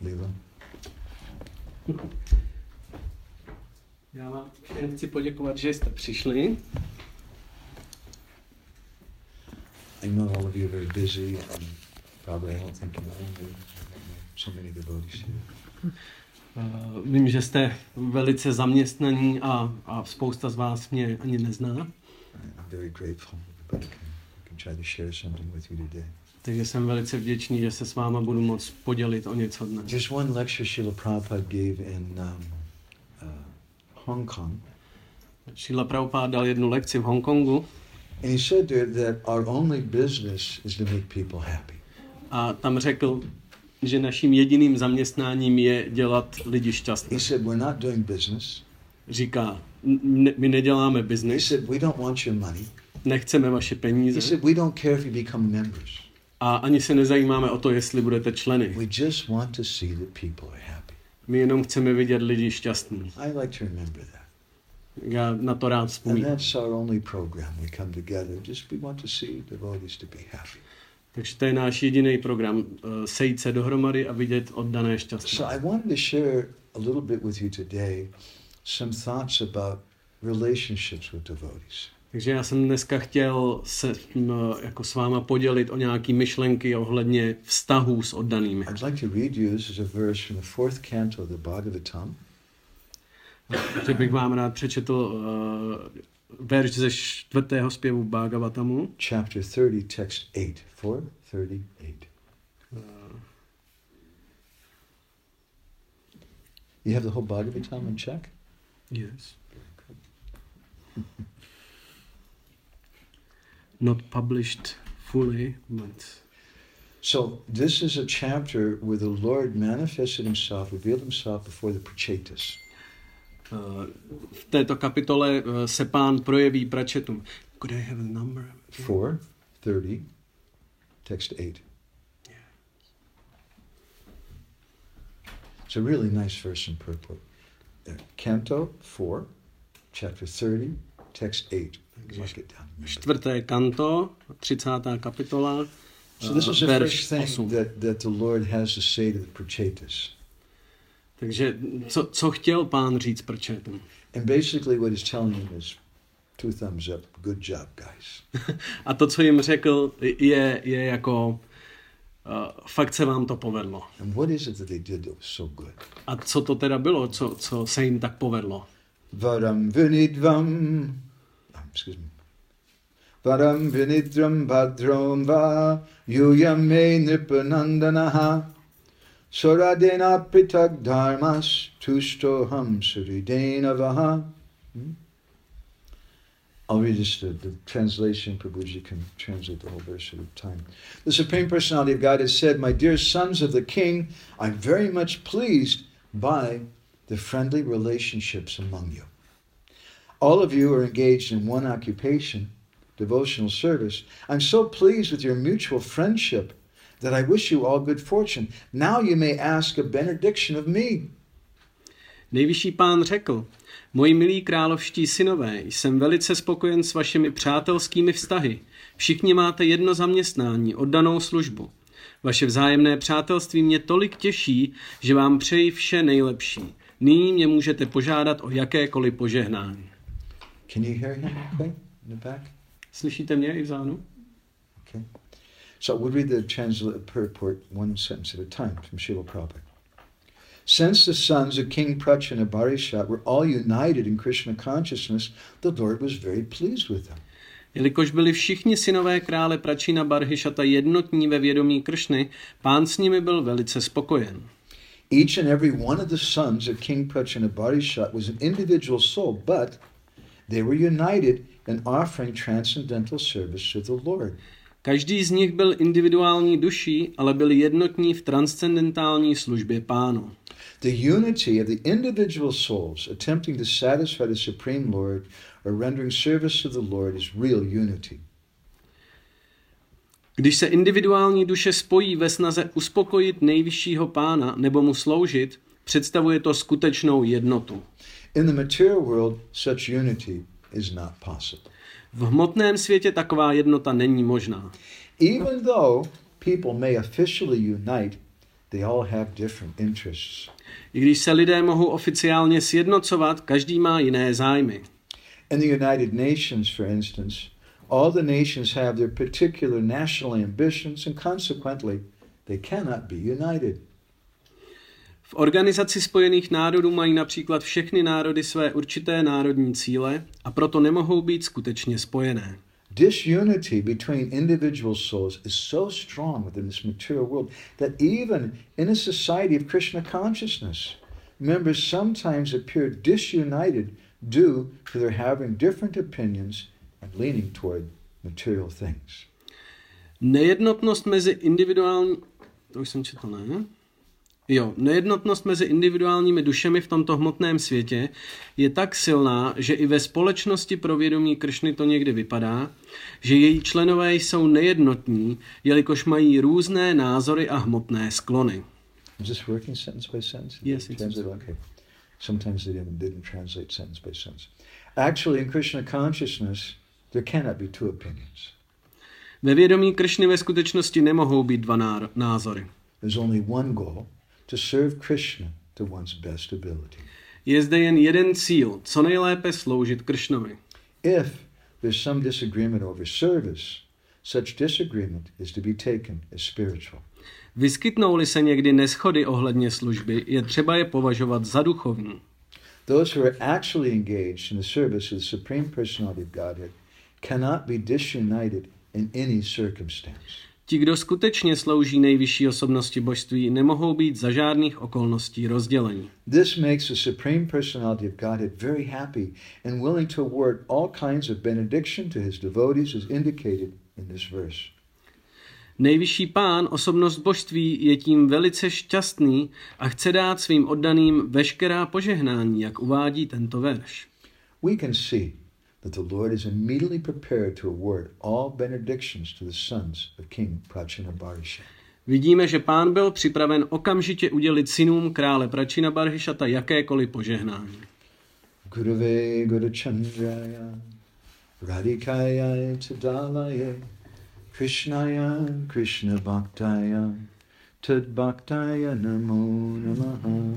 Lila. Já vám všem chci poděkovat, že jste přišli. I know all of you are very busy and probably I don't think you know so many devotees here. Vím, že jste velice zaměstnaní a spousta z vás mě ani nezná. I'm very grateful that I can try to share something with you today. Takže jsem velice vděčný, že se s váma budu moct podělit o něco dnes. There's one lecture Srila Prabhupada gave in Hong Kong. Srila Prabhupada dal jednu lekci v Hongkongu. And he said there that our only business is to make people happy. A tam řekl, že naším jediným zaměstnáním je dělat lidi šťastné. He said we're not doing business. Říká, my neděláme He business, said we don't want your money. nechceme vaše He peníze said we don't care if you become members. a ani se nezajímáme o to, jestli budete členy. We just want to see that people are happy. My jenom chceme vidět lidi šťastní. I like to remember that. Já na to rád And vzpomínám. that's our only program. We come together. Just we want to see devotees to be happy. Takže to je náš jediný program, sejít se dohromady a vidět oddané šťastné. So I wanted to share a little bit with you today some thoughts about relationships with devotees. Takže já jsem dneska chtěl se jako s váma podělit o nějaké myšlenky ohledně vztahů s oddanými. I'd like to read you, this is a verse from the 4th canto of the Bhagavatam. Že bych vám rád přečetl verš ze 4. zpěvu Bhagavatamu. Chapter 30, text 8. 4:38. You have the whole Bhagavatam in check? Yes. Not published fully, but... So this is a chapter where the Lord manifested himself, revealed himself before the Prachetas. V této kapitole se Pán projeví pračetům. Could I have a number? 4:30, text 8. Yeah. It's a really nice verse in purport. Canto 4, chapter 30, text 8. Mark it down. Čtvrté kanto, 30. kapitola, So this is the verš first 8. thing that the Lord has to say to the Prachetas. Takže co chtěl Pán říct pračetům? And basically what he's telling them is 2 thumbs up, good job, guys. A to, co jim řekl, je jako fakt se vám to povedlo. And what is it that they did that was so good? A co to teda bylo, co se jim tak povedlo? Varam vinidvam, excuse me. Varam vinidram bhadram va yuyame nipanandanaha soradena pitak dharmas tustoham suridena vaha. I'll read just the translation. Prabhuji can translate the whole verse at a time. The Supreme Personality of God has said, "My dear sons of the King, I'm very much pleased by the friendly relationships among you. All of you are engaged in one occupation, devotional service. I'm so pleased with your mutual friendship that I wish you all good fortune. Now you may ask a benediction of me." Nejvyšší Pán řekl, moji milí královští synové, jsem velice spokojen s vašimi přátelskými vztahy. Všichni máte jedno zaměstnání, oddanou službu. Vaše vzájemné přátelství mě tolik těší, že vám přeji vše nejlepší. Nyní mě můžete požádat o jakékoliv požehnání. Can you hear him okay in the back? Slyšíte mě i vzadu? Okay. So we'll read the purport one sentence at a time from Srila Prabhupada. Since the sons of King Pracha and Barishat were all united in Krishna consciousness, the Lord was very pleased with them. Jelikož byli všichni synové krále Pračina Barhišata jednotní ve vědomí Kršny, Pán s nimi byl velice spokojen. Each and every one of the sons of King Pracha and Barishat was an individual soul, but they were united in offering transcendental service to the Lord. Každý z nich byl individuální duší, ale byli jednotní v transcendentální službě Pánu. The unity of the individual souls attempting to satisfy the Supreme Lord or rendering service to the Lord is real unity. Když se individuální duše spojí ve snaze uspokojit nejvyššího Pána nebo mu sloužit, představuje to skutečnou jednotu. In the material world, such unity is not possible. V hmotném světě taková jednota není možná. Even though people may officially unite, they all have different interests. I když se lidé mohou oficiálně sjednocovat, každý má jiné zájmy. In the United Nations, for instance, all the nations have their particular national ambitions and consequently they cannot be united. V Organizaci spojených národů mají například všechny národy své určité národní cíle a proto nemohou být skutečně spojené. Disunity between individual souls is so strong within this material world that even in a society of Krishna consciousness, members sometimes appear disunited due to their having different opinions and leaning toward material things. Nejednotnost mezi individuálními dušemi v tomto hmotném světě je tak silná, že i ve společnosti pro vědomí Kršny to někdy vypadá, že její členové jsou nejednotní, jelikož mají různé názory a hmotné sklony. Is this working sentence by sentence? Yes, it's okay. Sometimes they didn't translate sentence by sentence. Actually, in Krishna consciousness, there cannot be two opinions. Ve vědomí Kršny ve skutečnosti nemohou být dva názory. There's only one goal, to serve Krishna to one's best ability. Je zde jen jeden cíl, co nejlépe sloužit Kršnovi. If there's some disagreement over service, such disagreement is to be taken as spiritual. Vyskytnou-li se někdy neshody ohledně služby, je třeba je považovat za duchovní. Those who are actually engaged in the service of the Supreme Personality of Godhead cannot be disunited in any circumstance. Ti, kdo skutečně slouží nejvyšší osobnosti božství, nemohou být za žádných okolností rozdělení. This makes the Supreme Personality of Godhead very happy and willing to award all kinds of benediction to his devotees as indicated in this verse. Nejvyšší pán, osobnost božství, je tím velice šťastný a chce dát svým oddaným veškerá požehnání, jak uvádí tento verš. We can see that the Lord is immediately prepared to award all benedictions to the sons of King Prachinabarhisha. Vidíme, že pán byl připraven okamžitě udělit synům krále Prachinabarhishata jakékoliv požehnání. Gurave Gurachandraya Radhikaya Tadalaya Krishnaya Krishna Bhaktaya Tad Bhaktaya Namo Namaha.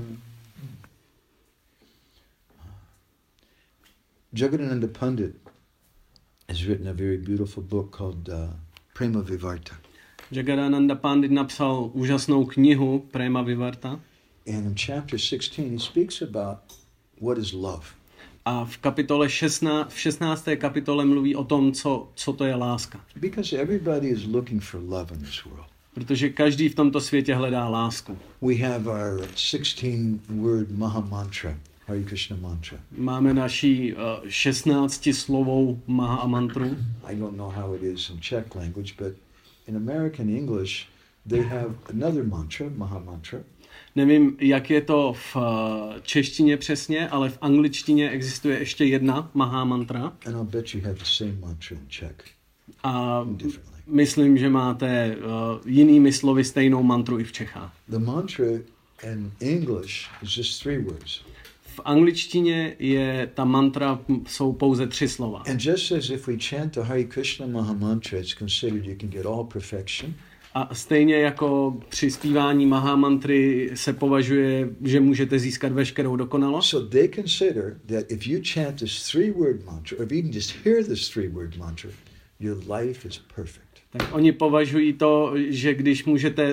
Jagadananda Pandit has written a very beautiful book called Prema Vivarta. Jagadananda Pandit napsal úžasnou knihu Prema Vivarta. And in chapter 16 he speaks about what is love. A v kapitole 16. kapitole mluví o tom, co to je láska. Because everybody is looking for love in this world. Protože každý v tomto světě hledá lásku. We have our 16-word Maha Mantra, Hare Krishna mantra. Máme naší 16-slovou Maha mantru. I don't know how it is in Czech language, but in American English they have another mantra, Maha Mantra. Nevím, jak je to v češtině přesně, ale v angličtině existuje ještě jedna Maha mantra. And I'll bet you have the same mantra in Czech. A myslím, že máte jinými slovy stejnou mantru i v Čechách. The mantra in English is just 3 words. V angličtině je ta mantra jsou pouze 3 slova. And just as if we chant the Hare Krishna Maha Mantra, it's considered you can get all perfection. A stejně jako při zpívání Maha mantry se považuje, že můžete získat veškerou dokonalost. So they consider that if you chant this 3-word mantra, or even just hear this 3-word mantra, your life is perfect. Tak oni považují to, že když můžete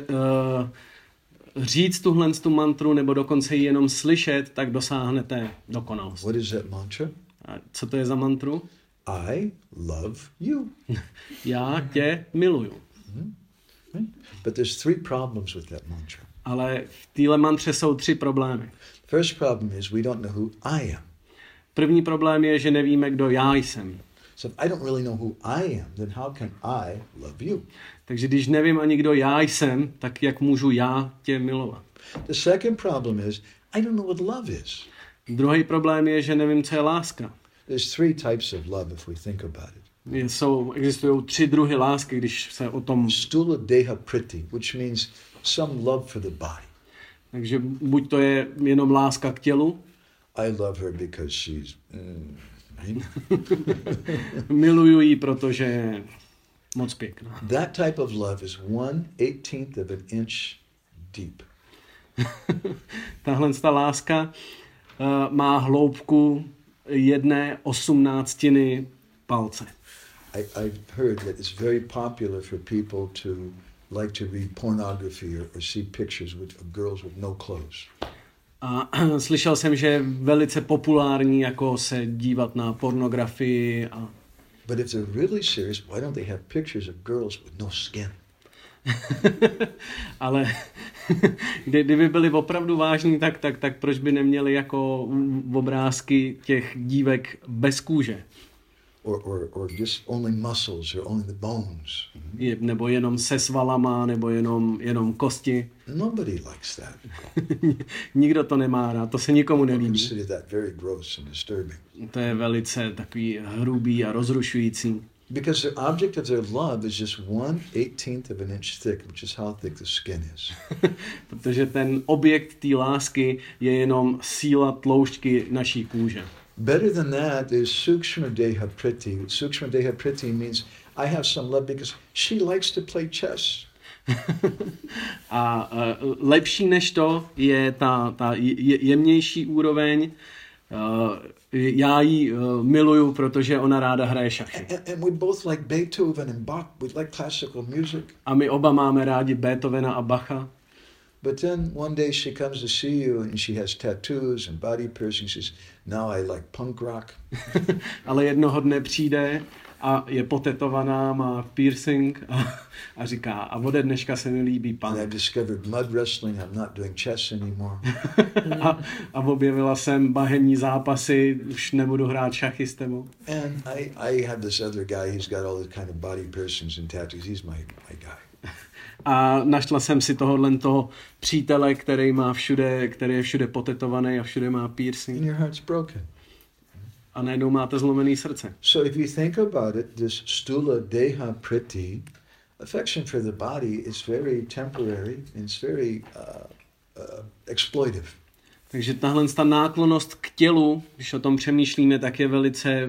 říct tuhle tu mantru nebo dokonce ji jenom slyšet, tak dosáhnete dokonalost. What is that mantra? A co to je za mantru? I love you. Já tě miluju. But there's 3 problems with that mantra. Ale v téhle mantře jsou 3 problémy. First problem is we don't know who I am. První problém je, že nevíme, kdo já jsem. So if I don't really know who I am, then how can I love you? Takže když nevím ani, kdo já jsem, tak jak můžu já tě milovat? The second problem is I don't know what love is. Druhý problém je, že nevím, co je láska. There's 3 types of love if we think about it. Existují 3 druhy lásky, když se o tom... Stula deha priti, which means some love for the body. Takže buď to je jenom láska k tělu. I love her because she's... right? Miluju ji, protože je moc pěkná. That type of love is 1/18 of an inch deep. Tahle láska má hloubku 1/18 palce. I've heard that it's very popular for people to like to read pornography or see pictures of girls with no clothes. A slyšel jsem, že je velice populární jako se dívat na pornografii. But if they're really serious, why don't they have pictures of girls with no skin? Ale kdyby byli opravdu vážní, tak proč by neměli jako obrázky těch dívek bez kůže? Or just only muscles or only the bones. Nebo jenom se svalama, nebo jenom kosti. Nobody likes that. Nikdo to nemá rád, to se nikomu nelíbí. Consider that very gross and disturbing. To je velice takový hrubý a rozrušující. Because the object of their love is just 1/18 of an inch thick, which is how thick the skin is. Protože ten objekt té lásky je jenom síla tloušťky naší kůže. Better than that is Sukshma Deha Priti. Sukshma Deha Priti means I have some love because she likes to play chess. A lepší než to je ta jemnější úroveň. Já ji miluju, protože ona ráda hraje šachy. And we both like Beethoven and Bach. We like classical music. A my oba máme rádi Beethovena a Bacha. But then one day she comes to see you and she has tattoos and body piercings. She says, now I like punk rock. Ale jednoho dne přijde a je potetovaná, má piercing a říká, a ode dneška se mi líbí punk. And I've discovered mud wrestling. I'm not doing chess anymore. a objevila jsem bahenní zápasy, už nebudu hrát šachy s tebou. And I have this other guy, he's got all the kind of body piercings and tattoos. He's my guy. A našla jsem si toho přítele, který je všude potetovaný a všude má piercing. And your heart's broken. A najednou máte zlomený srdce. So if you think about it, this stula deha priti, affection for the body is very temporary, it's very exploitive. Takže tahle náklonnost k tělu, když o tom přemýšlíme, tak je velice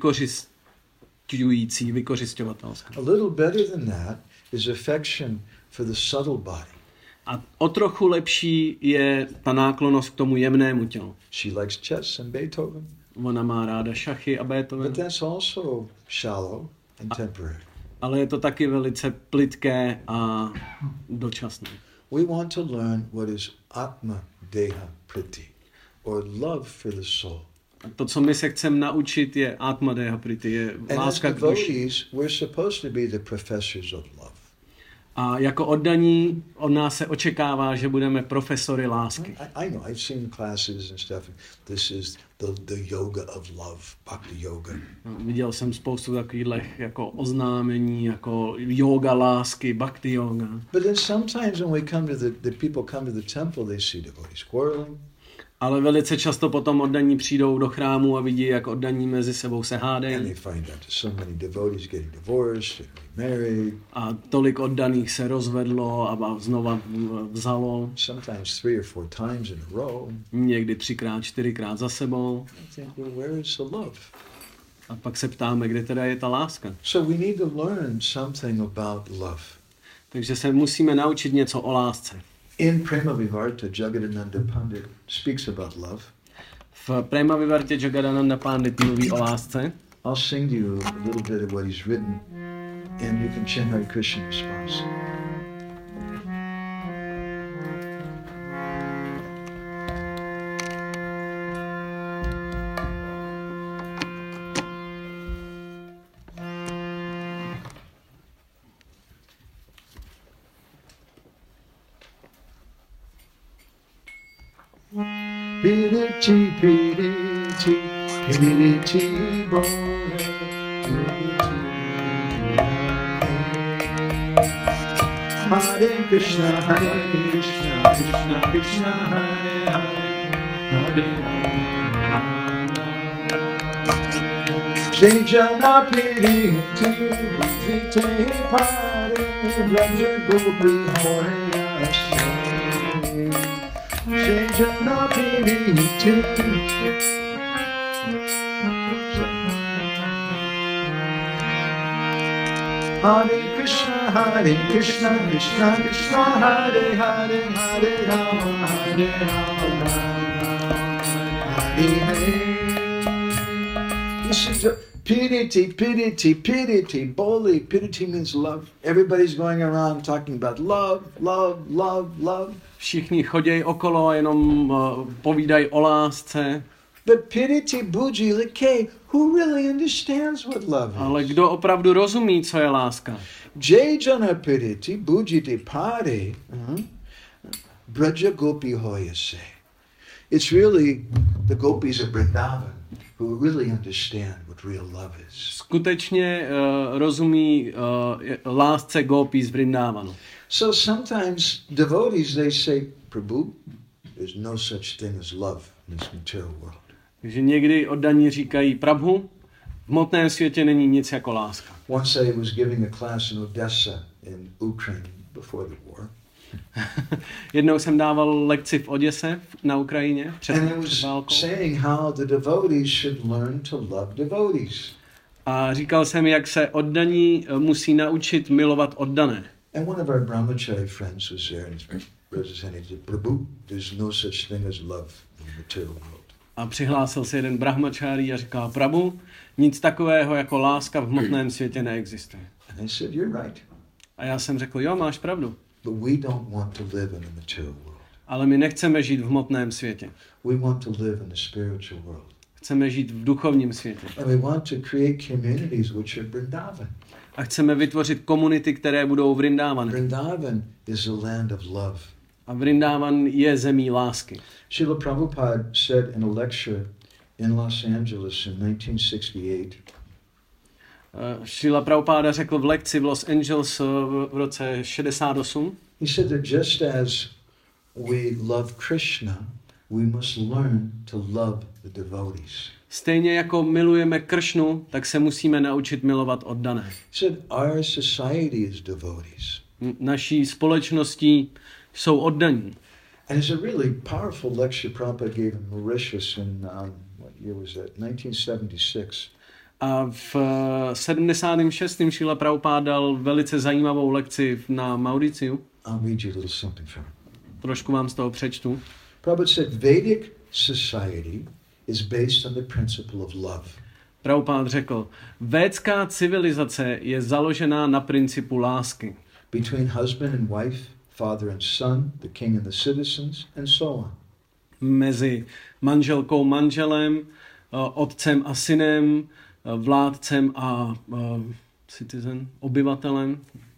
vykořisťovatelská. A little better than that is affection for the subtle body. A o trochu lepší je ta náklonnost k tomu jemnému tělu. She likes chess and Beethoven. Ona má ráda šachy a Beethoven. But that's also shallow and temporary. Ale je to taky velice plytké a dočasné. We want to learn what is Atma Deha Priti, or love for the soul. A to, co my se chceme naučit, je Atma Deha Priti, je láska k duši. We're supposed to be the professors of love. A jako oddaní od nás se očekává, že budeme profesory lásky. I know, I've seen classes and stuff. This is the yoga of love, bhakti yoga. Viděl jsem spoustu takových jako oznámení, jako yoga lásky, bhakti yoga. But then sometimes when we come to the people come to the temple, they see devotees quarreling. Ale velice často potom oddaní přijdou do chrámu a vidí, jak oddaní mezi sebou se hádají. And they find out so many devotees getting divorced and married. A tolik oddaných se rozvedlo a znova vzalo. Sometimes 3 or 4 times in a row. Někdy 3x, 4x za sebou. I think, well, where is the love? A pak se ptáme, kde teda je ta láska. So we need to learn something about love. Takže se musíme naučit něco o lásce. In Prema Vivarta, Jagadananda Pandit speaks about love. V Prema Vivartě Jagadananda Pandit mluví o lásce. I'll sing to you a little bit of what he's written, and you can chant Hare Krishna in response. Pirichi, pirichi, pirichi, bole, pirichi. Hare Krishna, Hare Krishna, Krishna Krishna, Hare Hare, Hare Hare. Jai Jana Piriti, Vite Pare, Raja Gopi Hare Ashe. Jai Jana Piriti. Hare Krishna, Hare Krishna, Krishna Krishna, Hare Hare, Hare Rama, Hare Rama, Hare Hare. This is pidity, pidity, pidity, boli. Pidity means love. Everybody's going around talking about love, love, love, love. Všichni chodějí okolo a jenom povídají o lásce. But pidity, buji, like, who really understands what love is? Ale kdo opravdu rozumí, co je láska? Jai jana pidity, buji de pari, braja gopi hoyase. It's really the gopis of Vrindavan who really understand what real love is. Skutečně rozumí lásce gopí z Vrindávanu. So sometimes devotees, they say, Prabhu, there's no such thing as love in this material world. Takže někdy oddaní říkají, Prabhu, v hmotném světě není nic jako láska. Once I was giving a class in Odessa in Ukraine before the war. Jednou jsem dával lekci v Oděse na Ukrajině před And I was válkou. saying how the devotees should learn to love devotees. A říkal jsem, jak se oddaní musí naučit milovat oddané. And one of our brahmachari friends was there and representing the Prabhu. There's no such thing as love in the material world. A přihlásil se jeden brahmačárí a říkal, Prabhu, nic takového jako láska v hmotném světě neexistuje. And I said, you're right. A já jsem řekl, jo, máš pravdu. But we don't want to live in the material world. Ale my nechceme žít v hmotném světě. We want to live in the spiritual world. Chceme žít v duchovním světě. And we want to create communities which are Vrindavan. A chceme vytvořit komunity, které budou Vrindávany. Vrindavan is a land of love. A Vrindávan je zemí lásky. Srila Prabhupada said in a lecture in Los Angeles in 1968, Srila Prabhupada řekl v lekci v Los Angeles v roce 68, he said that just as we love Krishna, we must learn to love the devotees. stejně jako milujeme Kršnu, tak se musíme naučit milovat oddané. He said our society is devotees. Naší společností jsou oddaní. And it's a really powerful lecture Prabhupada gave in Mauritius in, what year was that? 1976. A v 76. Šrila Prabhupada dal velice zajímavou lekci na Mauriciu. I'll read you a little something from it. Trošku vám z toho přečtu. Prabhupada said Vedic society is based on the principle of love. Prabhupada řekl, védská civilizace je založená na principu lásky. Between husband and wife, father and son, the king and the citizens, and so on. Mezi manželkou, manželem, otcem a synem, vládcem a citizen, obyvatelem.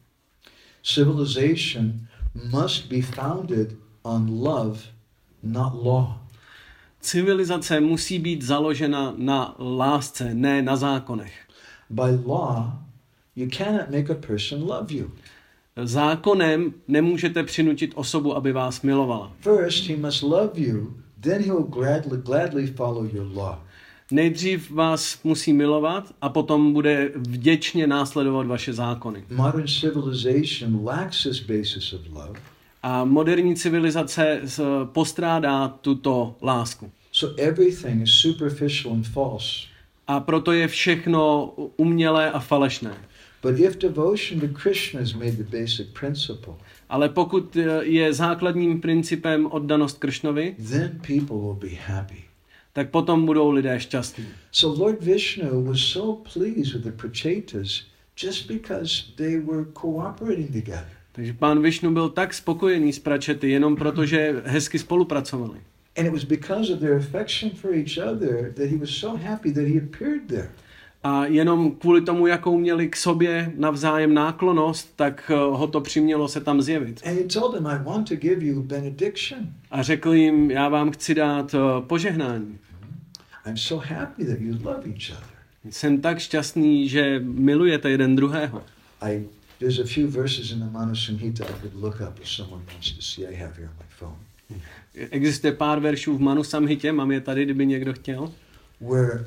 Civilization must be founded on love, not law. Civilizace musí být založena na lásce, ne na zákonech. By law, you cannot make a person love you. Zákonem nemůžete přinutit osobu, aby vás milovala. First, he must love you, then he will gladly follow your law. Nejdřív vás musí milovat a potom bude vděčně následovat vaše zákony. Modern civilization lacks this basis of love. A moderní civilizace postrádá tuto lásku. So everything is superficial and false. A proto je všechno umělé a falešné. But if devotion to Krishna is made the basic principle, Ale pokud je základním principem oddanost Kršnovi, then people will be happy. tak potom budou lidé šťastní. So Lord Vishnu was so pleased with the Prachetas just because they were cooperating together. Takže pán Višnu byl tak spokojený s pračety jenom proto, že hezky spolupracovali. And it was because of their affection for each other that he was so happy that he appeared there. A jenom kvůli tomu, jakou měli k sobě navzájem náklonnost, tak ho to přimělo se tam zjevit. And he told them, I want to give you a benediction. A řekl jim, já vám chci dát požehnání. I'm so happy that you love each other. Jsem tak šťastný, že milujete jeden druhého. There's a few verses in the Manu Samhita I could look up if someone wants to see. I have here on my phone. Existuje pár veršů v Manu Samhitě, mám je tady, kdyby někdo chtěl. Where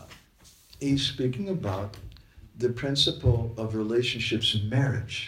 he's speaking about the principle of relationships in marriage.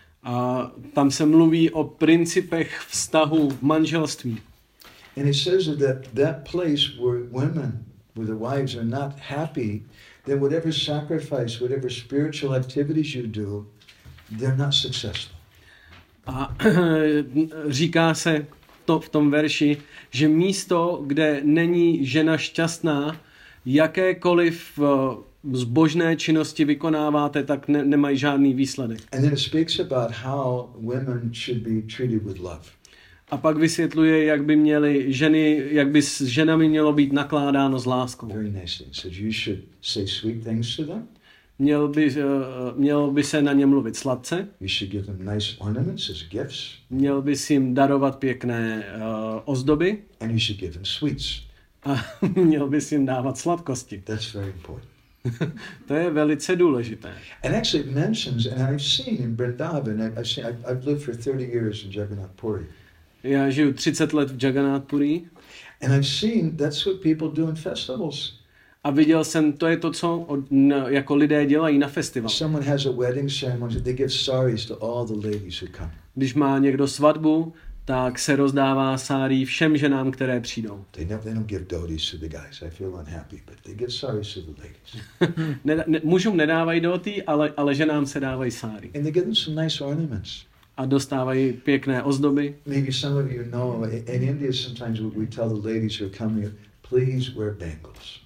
A tam se mluví o principech vztahu v manželství. And it says that place where women, where the wives are not happy, then whatever sacrifice, whatever spiritual activities you do, they're not successful. A říká se to v tom verši, že místo, kde není žena šťastná, jakékoliv zbožné činnosti vykonáváte, tak nemají žádný výsledek. And then it speaks about how women should be treated with love. A pak vysvětluje, jak by s ženami mělo být nakládáno s láskou. Very nice thing. Says you should say sweet things to them. Mělo by se na ně mluvit sladce. You should give them nice ornaments as gifts. Měl bys jim darovat pěkné ozdoby. And you should give them sweets. A měl bys jim dávat sladkosti. That's very important. To je velice důležité. And actually it mentions, and I've seen in Vrindavan, I've lived for 30 years in Jagannath Puri. Já žiju 30 let v Jagannath Puri. And I've seen that's what people do in festivals. A viděl jsem, to je to, co jako lidé dělají na festivalu. Someone has a wedding ceremony, they give saris to all the ladies who come. Když má někdo svatbu, tak se rozdává sárí všem ženám, které přijdou. They don't give dhotis to the guys. I feel unhappy, but they give saris to the ladies. Mužům nedávají dhoty, ale ženám se dávají sáry. And they give them some nice ornaments. A dostávají pěkné ozdoby. Maybe some of you know, in India sometimes we tell the ladies who are coming, please wear bangles.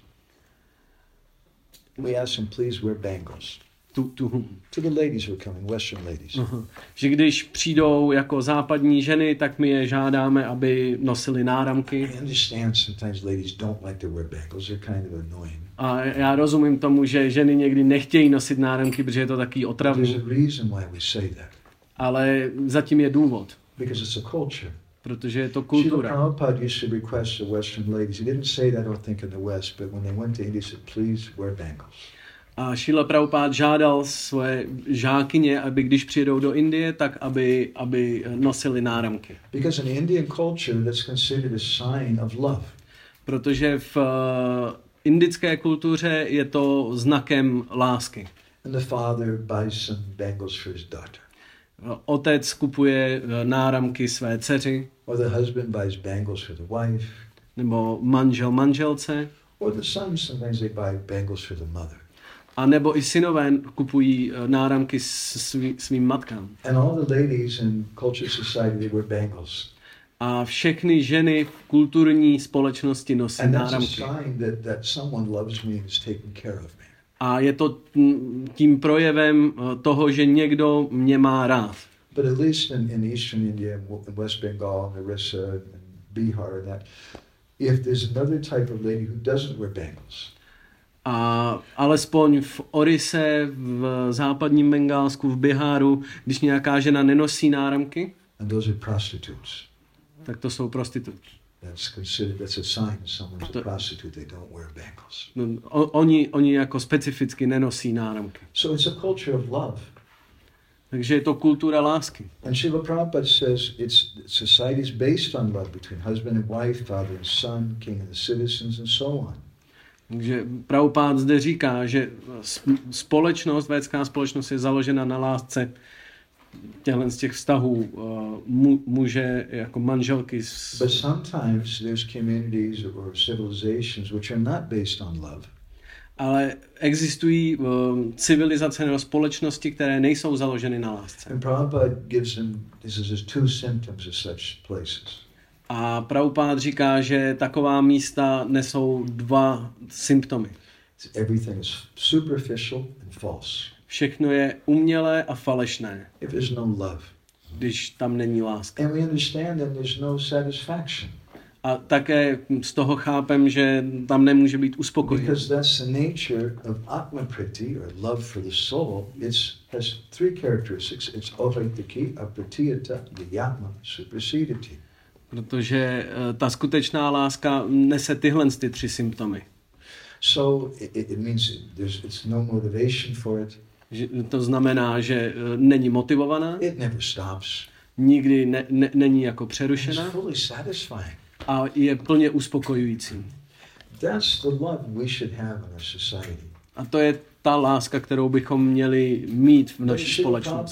We ask them, please wear bangles. To the ladies who are coming, Western ladies. Že když přijdou jako západní ženy, tak my je žádáme, aby nosili náramky. I understand sometimes ladies don't like to wear bangles. They're kind of annoying. A já rozumím tomu, že ženy někdy nechtějí nosit náramky, protože je to taky otravný. There's a reason why we say that. Ale zatím je důvod. Because it's a culture. Protože je to kultura. Srila Prabhupada used to request the Western ladies. He didn't say that, I don't think, in the West, but when they went to India, he said, please wear bangles. A Srila Prabhupada žádal svoje žákyně, aby když přijedou do Indie, tak aby nosili náramky. Because in the Indian culture, that's considered a sign of love. Protože v indické kultuře je to znakem lásky. And the father buys some bangles for his daughter. Otec kupuje náramky své dceři. Or the husband buys bangles for the wife. Nebo manžel manželce. Or the sons, sometimes they buy bangles for the mother. A nebo i synové kupují náramky svým matkám. And all the ladies in culture society, they wear bangles. A všechny ženy v kulturní společnosti nosí náramky. And that's a sign that someone loves me and is taking care of me. A je to tím projevem toho, že někdo mě má rád. But at least in Eastern India, in West Bengal, Orissa, and Bihar, that if there's another type of lady who doesn't wear bangles. A alespoň v Orise, v západním Bengálsku, v Biháru, když nějaká žena nenosí náramky, and those are prostitutes. Tak to jsou prostitutky. That's a sign someone's a prostitute, they don't wear bangles. No, oni jako specificky nenosí náramky. So it's a culture of love. Takže je to kultura lásky. And Srila Prabhupada says society is based on love between husband and wife, father and son, king and the citizens and so on. Takže Prabhupada zde říká, že védská společnost je založena na lásce z těch vztahů muže jako manželky. But sometimes there's communities or civilizations which are not based on love. Ale existují civilizace nebo společnosti, které nejsou založeny na lásce. And Prabhupada gives them, this is two symptoms of such places. A Prabhupada říká, že taková místa nesou dva symptomy. Everything is superficial and false. Všechno je umělé a falešné. If there's no love. Když tam není láska. And we understand that there's no satisfaction. A také z toho chápem, že tam nemůže být uspokojení. Because that's the nature of Atma Priti, or love for the soul. It has three characteristics. It's Ovaitaki, Apratiyata, Yatma, Supersedity. Protože ta skutečná láska nese tyhle ty tři symptomy. So it means it's no motivation for it. To znamená, že není motivovaná. It never stops. Nikdy není jako přerušena. It's fully satisfying. A je plně uspokojující. That's the love we should have in our society. A to je ta láska, kterou bychom měli mít v naší společnosti.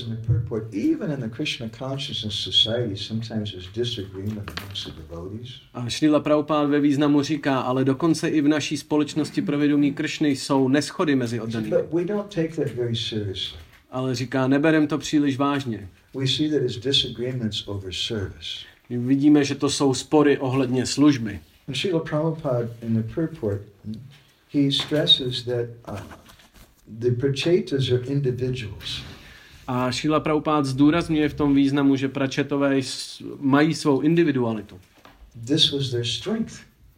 A Srila Prabhupada ve významu říká, ale dokonce i v naší společnosti pro vědomí Kršny jsou neshody mezi oddanými. ale říká, neberem to příliš vážně. We see that it's disagreements over service. My vidíme, že to jsou spory ohledně služby. And Srila Prabhupada in the purport, he stresses that the prachetas are individuals. A Šrila Prabhupada zdůrazňuje v tom významu, že pračetové mají svou individualitu. This was their strength.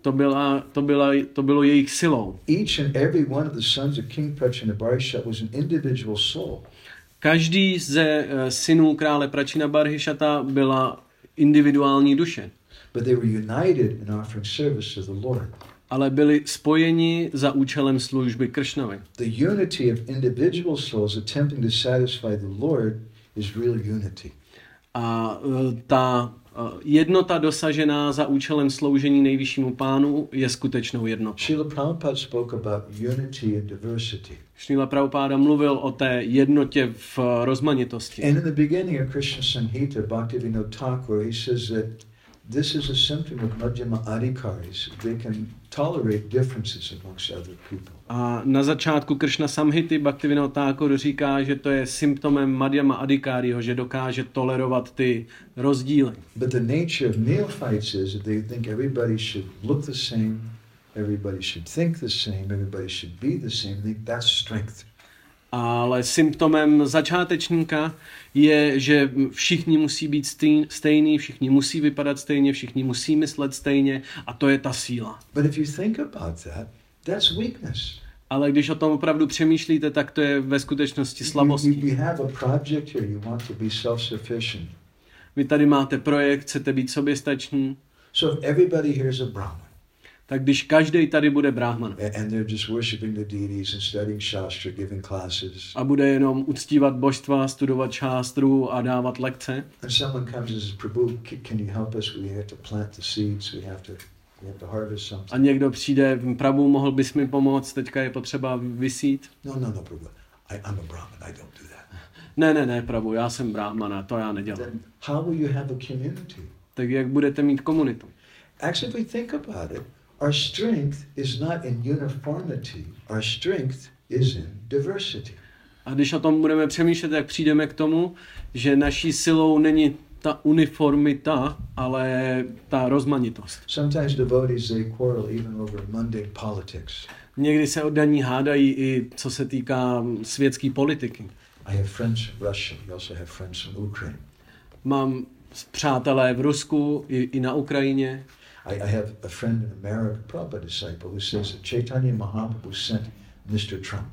To bylo jejich silou. Each and every one of the sons of King Prachinabarhishat was an individual soul. Každý ze synů krále Prachinabarhishata byla individuální duše. But they were united in offering service to the Lord. Ale byli spojeni za účelem služby Kršnovi. The unity of individual souls attempting to satisfy the Lord is real unity. A ta jednota dosažená za účelem sloužení nejvyššímu pánu je skutečnou jednotou. Srila Prabhupada spoke about unity and diversity. Srila Prabhupada mluvil o té jednotě v rozmanitosti. And in the beginning of Krishna Samhita, Bhaktivinoda Thakur, he says that this is a symptom of Madhyama Adhikaris. They can tolerate differences amongst other people. A na začátku Krishna Samhity Bhaktivinoda Thakur říká, že to je symptomem Madhyama Adhikariho, že dokáže tolerovat ty rozdíly. But the nature of neophytes is that they think everybody should look the same, everybody should think the same, everybody should be the same. They think that's strength. Ale symptomem začátečníka je, že všichni musí být stejní, všichni musí vypadat stejně, všichni musí myslet stejně a to je ta síla. But if you think about that, that's weakness. Ale když o tom opravdu přemýšlíte, tak to je ve skutečnosti slabostí. You have a project here, you want to be self-sufficient. Vy tady máte projekt, chcete být soběstační. So if everybody here is a Brahman, tak když každý tady bude brahman and they're just worshiping the deities and studying shastra, giving classes, a bude jenom uctívat božstva, studovat šástru a dávat lekce, and someone comes and says, Prabhu, can you help us? We have to plant the seeds, we have to harvest something. A někdo přijde, Prabhu, mohl bys mi pomoct, teďka je potřeba vysít. No, Prabhu, I'm a Brahman, I don't do that. Ne, Prabhu, já jsem brahmana, to já nedělám. Then how will you have a community? Tak jak budete mít komunitu? Actually, if we think about it, our strength is not in uniformity. Our strength is in diversity. A když o tom budeme přemýšlet, tak přijdeme k tomu, že naší silou není ta uniformita, ale ta rozmanitost. Sometimes devotees, they quarrel even over mundane politics. Někdy se oddaní hádají i co se týká světské politiky. I have friends in Russia. We also have friends in Ukraine. Mám přátelé v Rusku i na Ukrajině. I have a friend in America, Prabhupada disciple, who says that Chaitanya Mahaprabhu sent Mr. Trump.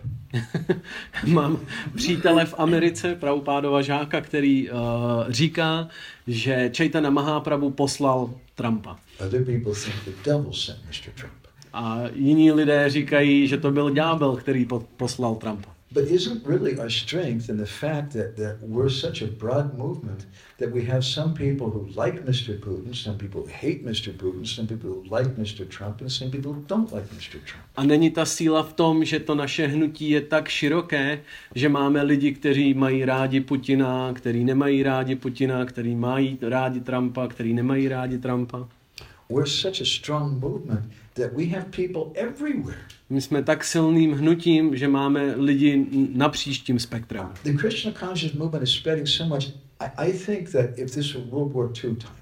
Mám přítele v Americe, Prabhupádova žáka, který říká, že Chaitanya Mahaprabhu poslal Trumpa. Other people think the devil sent Mr. Trump. A jiní lidé říkají, že to byl ďábel, který poslal Trumpa. But isn't really our strength in the fact that we're such a broad movement that we have some people who like Mr. Putin, some people who hate Mr. Putin, some people who like Mr. Trump, and some people who don't like Mr. Trump. A není ta síla v tom, že to naše hnutí je tak široké, že máme lidi, kteří mají rádi Putina, kteří nemají rádi Putina, kteří mají rádi Trumpa, kteří nemají rádi Trumpa. We're such a strong movement that we have people everywhere. My jsme tak silným hnutím, že máme lidi napříč tím spektrem. The Krishna conscious movement is spreading so much. I think that if this were World War II time,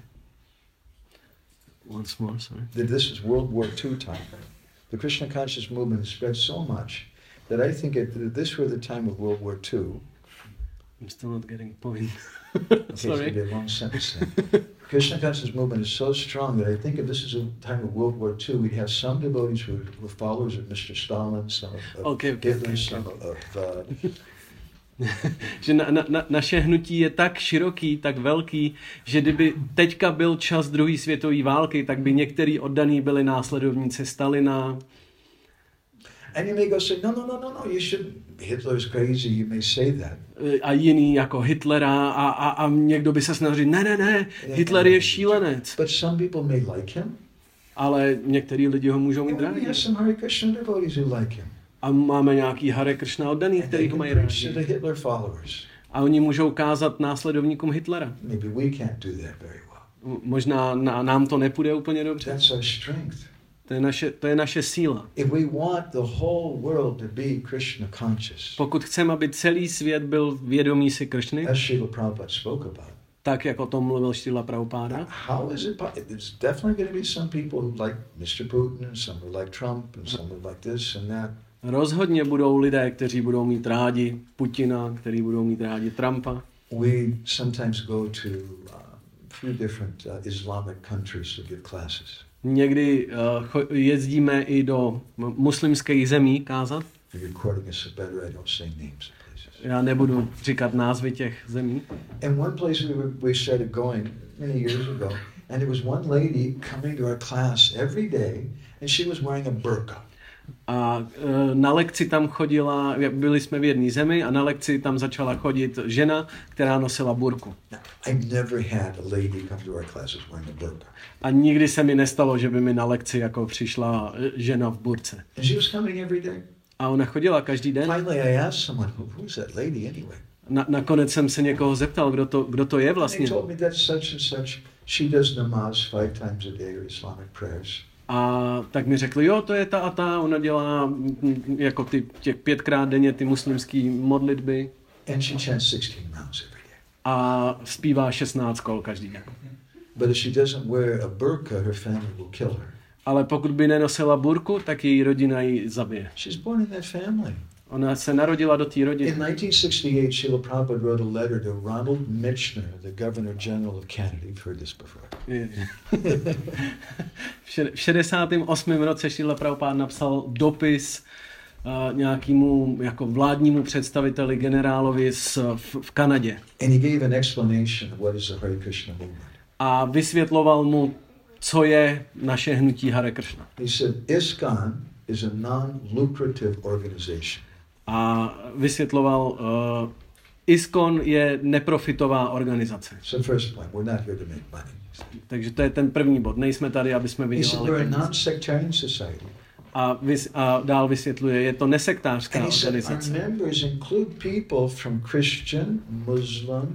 Once more, sorry. that this is World War II time, the Krishna conscious movement has spread so much that I think if this were the time of World War II, I'm still not getting point. okay, it's Sorry. going to be a long sentence then. Krishna conscious movement is so strong that I think if this is a time of World War II, we'd have some devotees who were followers of Mr. Stalin, some of Hitler, some of že naše hnutí je tak široký, tak velký, že kdyby teďka byl čas druhé světové války, tak by některý oddaný byli následovníci Stalina. And you may go say, no, you shouldn't. Hitler's crazy, you may say that. A jiný jako Hitlera a někdo by se snažil říct, ne, Hitler je šílenec. But some people may like him. Ale některý lidi ho můžou mít And we rádi. have some Hare Krishna devotees who like him. A máme nějaký Hare Krishna oddaný, který ho mají rádi. To the Hitler followers. A oni můžou kázat následovníkům Hitlera. Maybe we can't do that very well. Možná nám to nepůjde úplně dobře. That's our strength. To je naše síla. If we want the whole world to be Krishna conscious, Pokud chceme, aby celý svět byl vědomý si Kršny, as Srila Prabhupada spoke about, tak jak o tom mluvil Šrila Prabhupáda, how is it possible? There's definitely going to be some people who like Mr. Putin, and some who like Trump, and some who like this and that. rozhodně budou lidé, kteří budou mít rádi Putina, kteří budou mít rádi Trumpa. We sometimes go to a few different Islamic countries to give classes. Někdy jezdíme i do muslimských zemí kázat. The recording is so better I don't say names of places. Já nebudu říkat názvy těch zemí. And one place we started going many years ago, and there was one lady coming to our class every day, and she was wearing a burqa. A na lekci tam chodila, byli jsme v jedné zemi a na lekci tam začala chodit žena, která nosila burku. Now, I've never had a lady come to our classes wearing a burqa. A nikdy se mi nestalo, že by mi na lekci jako přišla žena v burce. And she was coming every day. A ona chodila každý den. Finally, I asked someone, who's that lady anyway? Nakonec jsem se někoho zeptal, kdo to je And vlastně. they told me that's such and such. She does namaz 5 times a day or Islamic prayers. A tak mi řekli, jo, to je ta a ta, ona dělá jako těch 5krát denně ty muslimský modlitby. And she chants 16 rounds every day. A zpívá 16 kol každý den. But if she doesn't wear a burqa, her family will kill her. Ale pokud by nenosila burku, tak její rodina ji zabije. She's born in that family. Ona se narodila do té rodiny. In 1968, Srila Prabhupada wrote a letter to Ronald Michener, the Governor General of Canada. You've heard this before. V 68. roce Šrila Prabhupáda napsal dopis nějakému jako vládnímu představiteli, generálovi v Kanadě. And he gave an explanation of what is the Hare Krishna movement. A vysvětloval mu, co je naše hnutí Hare Krishna. He said, ISKCON is a non-lucrative organization. A vysvětloval, ISKCON je neprofitová organizace. So first point, we're not here to make money. Takže to je ten první bod. Nejsme tady, aby jsme He said, vydělali we're a peníze. non-sectarian society. A dál vysvětluje, je to nesektářská And he said, our organizace. members include people from Christian, Muslim,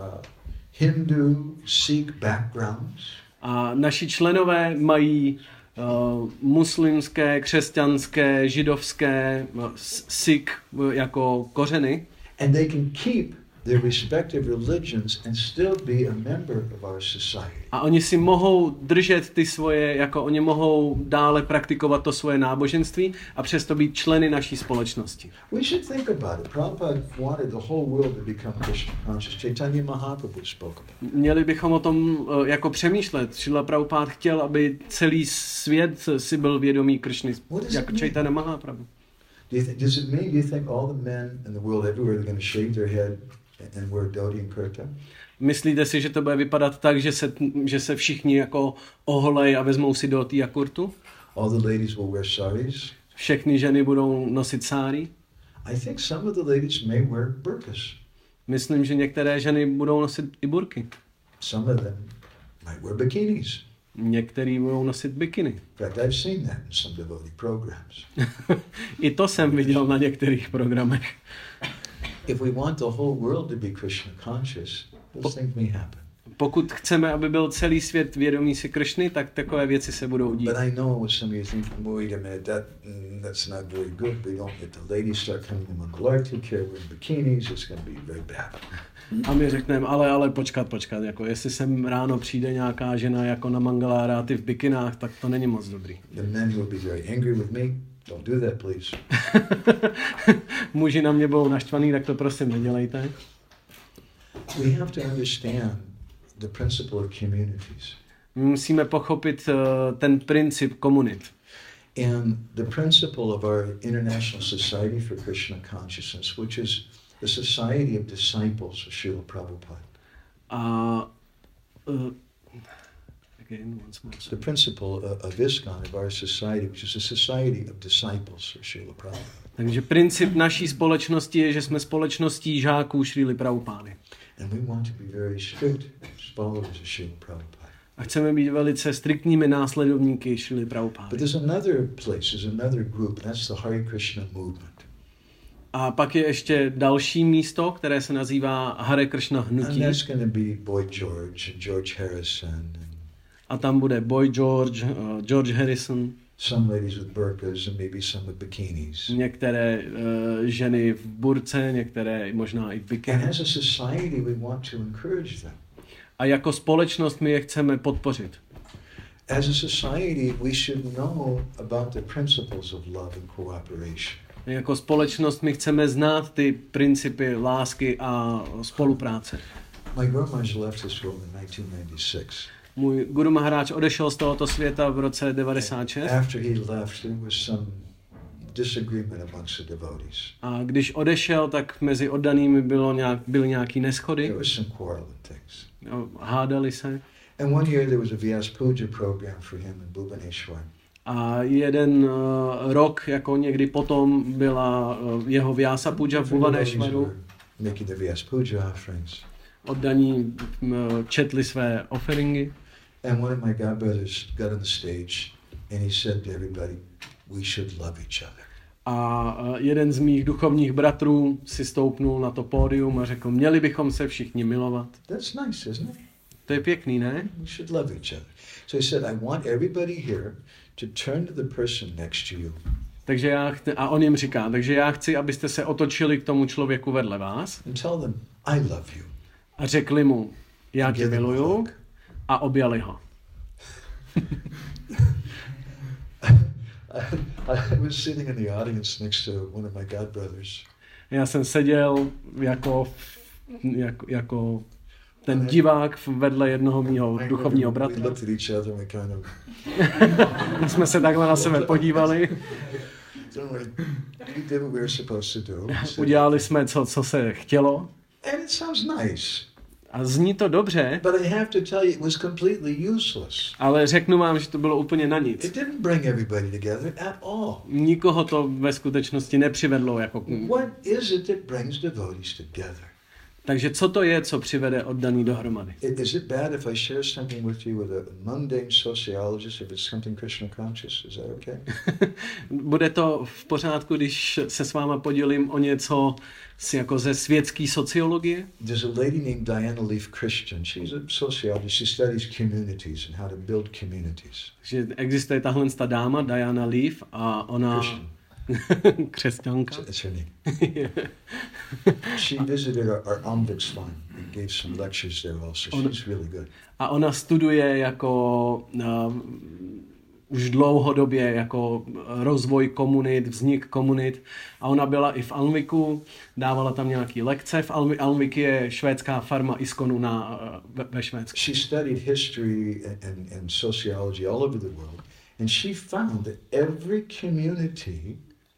Hindu, Sikh backgrounds. A naši členové mají muslimské, křesťanské, židovské, Sikh jako kořeny. And they can keep their respective religions and still be a member of our society. A oni si mohou držet ty svoje, jako oni mohou dále praktikovat to svoje náboženství a přesto být členy naší společnosti. We should think about it. Prabhupada wanted the whole world to become Krishna conscious. Chaitanya Mahaprabhu spoke about it. Měli bychom o tom jako přemýšlet. Šrila Prabhupád chtěl, aby celý svět si byl vědomý Kršny, jako Chaitanya Mahaprabhu. Does it mean, do you think all the men in the world everywhere are going to shave their head and wear dhoti and kurta? Myslíte si, že to bude vypadat tak, že se všichni jako oholej a vezmou si dhoti a kurtu? All the ladies will wear saris? Všechny ženy budou nosit sáry? I think some of the ladies may wear burqas. Myslím, že některé ženy budou nosit i burky. Some of them might wear bikinis. Některý budou nosit bikiny. In fact, I've seen that in some devotee programs. I to jsem viděl na některých programech. If we want the whole world to be Krishna conscious, those things may happen. Pokud chceme, aby byl celý svět vědomý si Kršny, tak takové věci se budou dít. But I know what some of you think, wait a minute, that's not very good. We don't let the ladies start coming to Mangalarti, wearing bikinis, it's going to be very bad. A my řekneme, ale počkat, jako jestli sem ráno přijde nějaká žena jako na Mangalára a ty v bikinách, tak to není moc dobrý. The men will be very angry with me. Don't do that, please. Muži na mě budou naštvaný, tak to prosím nedělejte. We have to understand the principle of communities. My musíme pochopit ten princip komunit. And the principle of our International Society for Krishna Consciousness, which is the Society of Disciples of Srila Prabhupada. Again, once more. The principle of ISKCON, of our society, which is a society of disciples of Srila Prabhupada. Takže princip naší společnosti je, že jsme společností žáků Šrily Prabhupády. And we want to be very strict followers of Srila Prabhupada. A chceme být velice striktními následovníky Šrily Prabhupády. But there's another place, there's another group, and that's the Hare Krishna movement. A pak je ještě další místo, které se nazývá Hare Krishna And hnutí. that's going to be Boy George and George Harrison. A tam bude Boy George, George Harrison. some ladies with burqas and maybe some with bikinis. Některé ženy v burce, některé možná i v And bikini. as a society, we want to encourage them. A jako společnost my je chceme podpořit. As a society, we should know about the principles of love and cooperation. Jako společnost my chceme znát ty principy lásky a spolupráce. My Guru Maharaj left this world in 1996. Můj Guru Maharaj odešel z tohoto světa v roce 96. After he left, there was some disagreement amongst the devotees. A když odešel, tak mezi oddanými byly nějaký neschody. There was some quarrel and things. Hádali se. And one year there was a Vyas Puja program for him in Bhubaneswar. A jeden rok, jako někdy potom, byla jeho Vyasa Puja v Bhubaneswaru. Making the Vyas Puja offerings. Oddaní četli své offeringy. And one of my godbrothers got on the stage and he said to everybody, we should love each other. A jeden z mých duchovních bratrů si stoupnul na to pódium a řekl, měli bychom se všichni milovat. That's nice, isn't it? To je pěkný, ne? We should love each other. So he said, I want everybody here to turn to the person next to you. Takže a on jim říká, takže já chci, abyste se otočili k tomu člověku vedle vás And tell them, I love you. a řekli mu, já tě miluju, a objali ho. I was sitting in the audience next to one of my godbrothers. Já jsem seděl jako ten divák vedle jednoho mýho duchovního We bratra. looked at each other and we kind of, My jsme se takhle na sebe podívali, we did what we were supposed to do. udělali jsme co se chtělo And it sounds nice. a zní to dobře, But I have to tell you, it was completely useless. ale řeknu vám, že to bylo úplně na nic. It didn't bring everybody together at all. Nikoho to ve skutečnosti nepřivedlo jako. What is it that brings devotees together? Takže co to je, co přivede oddaný dohromady? Is it bad if I share something with you with a mundane sociologist if it's something Krishna conscious? Is that okay? Bude to v pořádku, když se s váma podělím o něco jako ze světské sociologie? There's a lady named Diana Leaf Christian. She's a sociologist. She studies communities and how to build communities. Že existuje tahle dáma, Diana Leaf, a ona... Křesťanka. That's her name. She visited our Ombudsman and gave some lectures there also. She's really good. A ona studuje jako už dlouhodobě jako rozvoj komunit, vznik komunit. A ona byla i v Alnviku, dávala tam nějaký lekce. V Alnvik je švédská farma ISKCONu ve Švédsku. She studied history and sociology all over the world. And she found that every community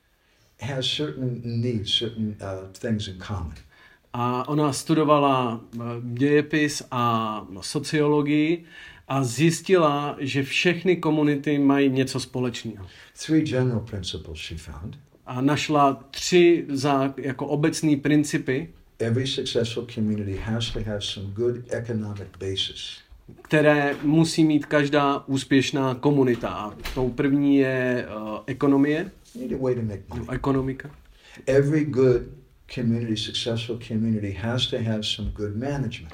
has certain needs, certain things in common. A ona studovala dějepis a sociologii a zjistila, že všechny komunity mají něco společného. 3 general principles she found. A našla 3 jako obecný principy, Every successful community has to have some good economic basis. které musí mít každá úspěšná komunita. A tou první je ekonomie. You need a way to make money. Ekonomika. Every good community, successful community has to have some good management.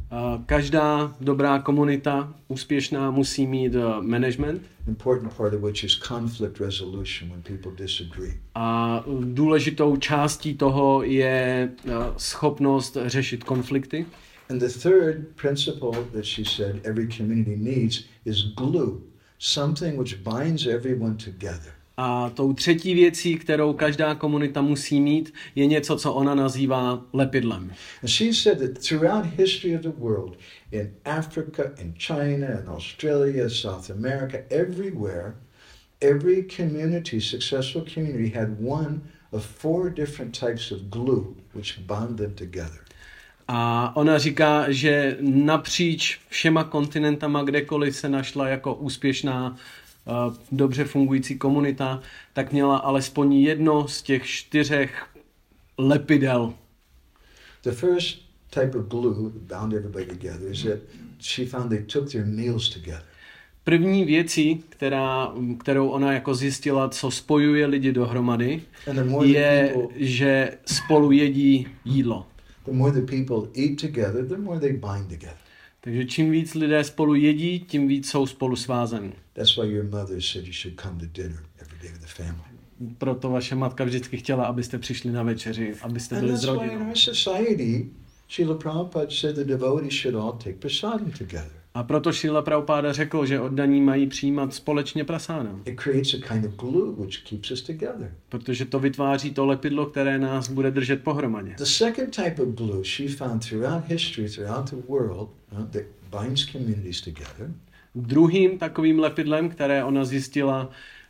Každá dobrá komunita úspěšná musí mít management. Important part of which is conflict resolution when people disagree. A důležitou částí toho je schopnost řešit konflikty. And the third principle that she said every community needs is glue, something which binds everyone together. A tou třetí věcí, kterou každá komunita musí mít, je něco, co ona nazývá lepidlem. And she said that throughout history of the world, in Africa, in China, in Australia, South America, everywhere, every community, successful community, had one of 4 different types of glue which bound them together. A ona říká, že napříč všema kontinentama, kdekoliv se našla jako úspěšná, dobře fungující komunita, tak měla alespoň jedno z těch 4 lepidel. The first type of glue that bound everybody together is that she found they took their meals together. První věcí, kterou ona jako zjistila, co spojuje lidi dohromady, je, že spolu jedí jídlo. The more the people eat together, the more they bind together. Takže čím víc lidé spolu jedí, tím víc jsou spolu svázení. That's why your mother said you should come to dinner every day with the family. Proto vaše matka vždycky chtěla, abyste přišli na večeři, abyste And byli s that's why in rodinou. our society, Srila Prabhupada said the devotees should all take prasadam together. A proto Šrila Prabhupáda řekl, že oddaní mají přijímat společně prasáda. It creates a kind of glue which keeps us together. Protože to vytváří to lepidlo, které nás bude držet pohromadě. The second type of glue she found throughout history, throughout the world, that binds communities together. Druhým takovým lepidlem, které ona zjistila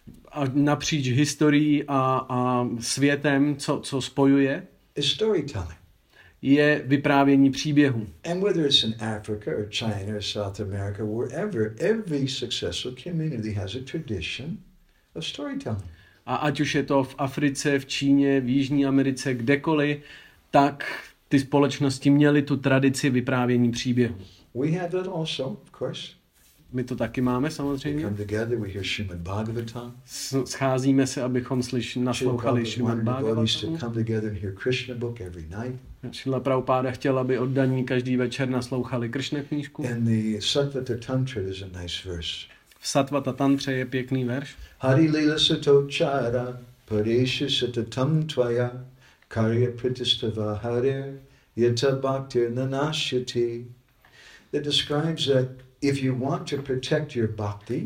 napříč historií a světem, co spojuje, is storytelling. je vyprávění příběhů. And whether it's in Africa or China or South America, wherever, every successful community has a tradition of storytelling. A ať už je to v Africe, v Číně, v Jižní Americe, kdekoliv, tak ty společnosti měly tu tradici vyprávění příběhů. We have that also, of course. My to taky máme We samozřejmě. come together, we hear Srimad Bhagavatam. Scházíme se, abychom naslouchali Šrimad devotees to Bhagavatamu. come together and hear Krishna book every night. Šrila Prabhupáda chtěl, aby oddaní každý večer naslouchali Kršna knížku. In the Satvata Tantra, there's a nice verse. V Satvata Tantře je pěkný verš. Hari lila satochara paresha satatam tvaya karya pritistava harir yata bhaktir nanashyati. That describes that if you want to protect your bhakti,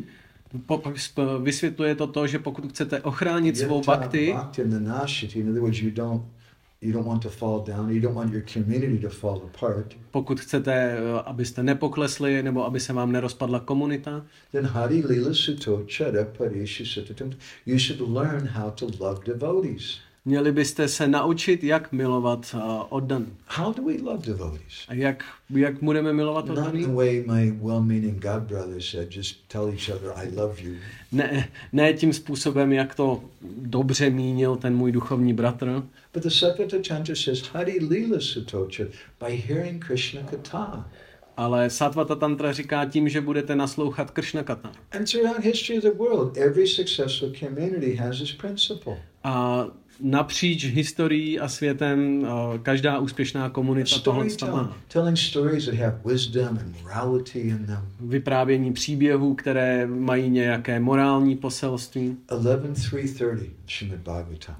Vysvětluje to, že pokud chcete ochránit svou yata bhakti, bhaktir nanashyati, in other words, you don't want to fall down, you don't want your community to fall apart, pokud chcete, abyste nepoklesli nebo aby se vám nerozpadla komunita, then Hari Lila Satochara Paresha Satatam, you should learn how to love devotees. měli byste se naučit, jak milovat oddaný. How do we love devotees? A jak budeme milovat Not in oddaný? the way my well-meaning god brother said, just tell each other, I love you. Ne tím způsobem, jak to dobře mínil ten můj duchovní bratr, But the Satvata Tantra says, Hari Lila Satochara, by hearing Krishna Katha. ale Satvata Tantra říká tím, že budete naslouchat Kršna Katha. And throughout history of the world, every successful community has this principle. A napříč historií a světem každá úspěšná komunita tohle má. Telling stories that have wisdom and morality in them. Vyprávění příběhů, které mají nějaké morální poselství. 11.330, Srimad Bhagavatam.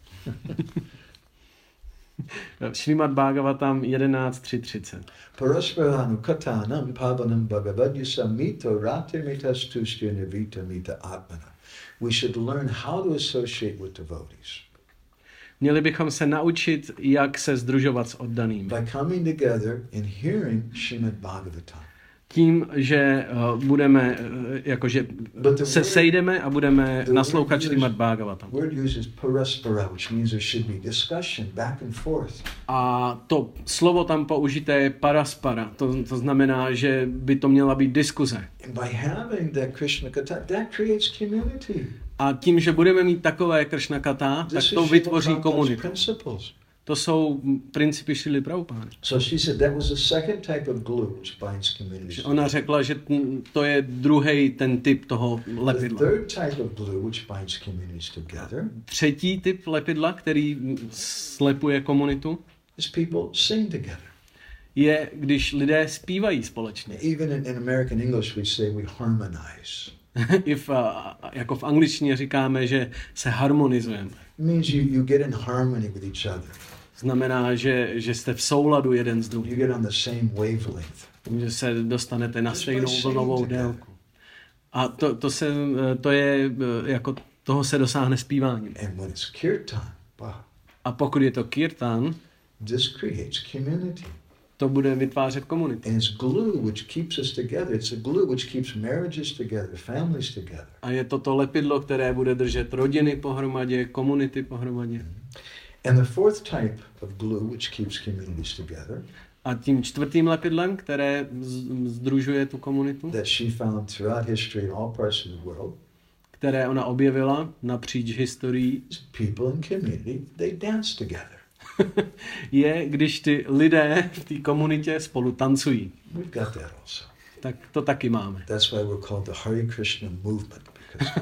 Šrimad Bhagavatam 11.3.30. Parasparanu katanam pavanam bhagavadya mito ratimitastushya nivita mita atmana. We should learn how to associate with devotees. Měli bychom se naučit, jak se sdružovat s oddanými. By coming together and hearing Srimad Bhagavatam. Tím, že budeme, jakože se sejdeme a budeme naslouchat Šrimad Bhagavatam. Word uses paraspara, which means there should be discussion back and forth. A to slovo tam použité je paraspara. To znamená, že by to měla být diskuze. And by having that Krishna Katha, that creates community. A tím, že budeme mít takové Kršna Katha, tak to vytvoří komunitu. To jsou principy Šrily Prabhupády. So she said that was the second type of glue which binds communities. Ona řekla, že to je druhý ten typ toho The lepidla. third type of glue which binds communities together Třetí typ lepidla, který slepuje komunitu, is people sing together. je, když lidé zpívají společně. Even in American English we say we harmonize. Jako v angličtině říkáme, že se harmonizujeme. It means you get in harmony with each other. Znamená, že jste v souladu jeden s You druhým. get on the same wavelength. Že se dostanete na stejnou vlnovou délku. A to je jako toho se dosáhne zpíváním. And when it's kirtan, wow, A pokud je to kirtan, this creates community. to bude vytvářet komunitu. And it's glue which keeps us together. It's a glue which keeps marriages together, families together. A je to lepidlo, které bude držet rodiny pohromadě, komunity pohromadě. And the fourth type of glue which keeps communities together A tím čtvrtým lepidlem, které sdružuje tu komunitu, that she found throughout history in all parts of the world které ona objevila napříč historií, is people in community, they dance together. je, když ty lidé v té komunitě spolu tancují. We've got that also. Tak to taky máme. That's why we're called the Hare Krishna movement.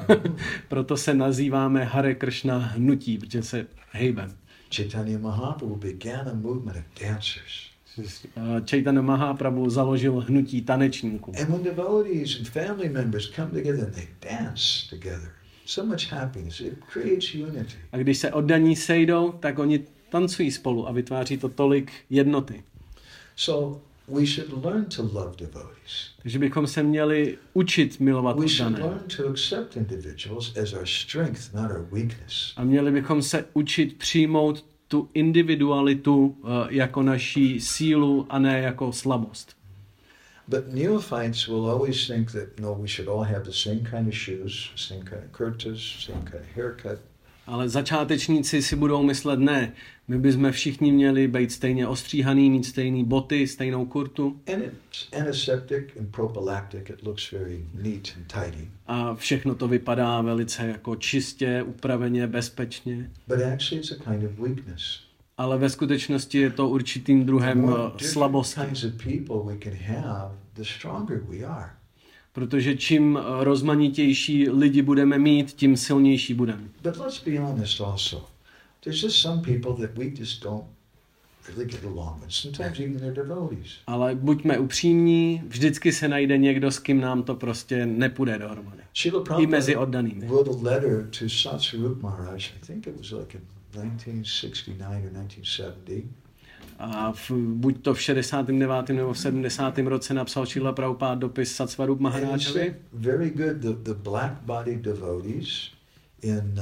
Proto se nazýváme Hare Krishna hnutí, protože se hejbem. Chaitanya Mahaprabhu began a movement of dancers. Chaitanya Mahaprabhu založil hnutí tanečníků. And when devotees and family members come together and they dance together, so much happiness, it creates unity. A když se oddaní sejdou, tak oni tancují spolu a vytváří to tolik jednoty. So we should learn to love devotees. Takže bychom se měli učit milovat We should oddané. learn to accept individuals as our strength, not our weakness. A měli bychom se učit přijmout tu individualitu jako naší sílu a ne jako slabost. But neophytes will always think that, no, we should all have the same kind of shoes, same kind of kurtas, same kind of haircut. Ale začátečníci si budou myslet, ne, my bychom všichni měli být stejně ostříhaný, mít stejné boty, stejnou kurtu. And it's antiseptic and prophylactic. It looks very neat and tidy. A všechno to vypadá velice jako čistě, upraveně, bezpečně. But actually it's a kind of weakness. Ale ve skutečnosti je to určitým The druhem more different slabosti. kinds of people we can have, the stronger we are. Protože čím rozmanitější lidi budeme mít, tím silnější budeme. But let's be honest also. There's just some people that we just don't really get along with. Sometimes even they're devotees. Ale buďme upřímní, vždycky se najde někdo, s kým nám to prostě nepůjde dohromady. Srila I mezi Prabhupada oddanými. wrote a letter to Satsvarup Maharaj. I think it was like in 1969 or 1970. A buď to v 69. nebo v 70. roce napsal Srila Prabhupada dopis Satsvarup And he Maharájovi. said, very good, the black-bodied devotees in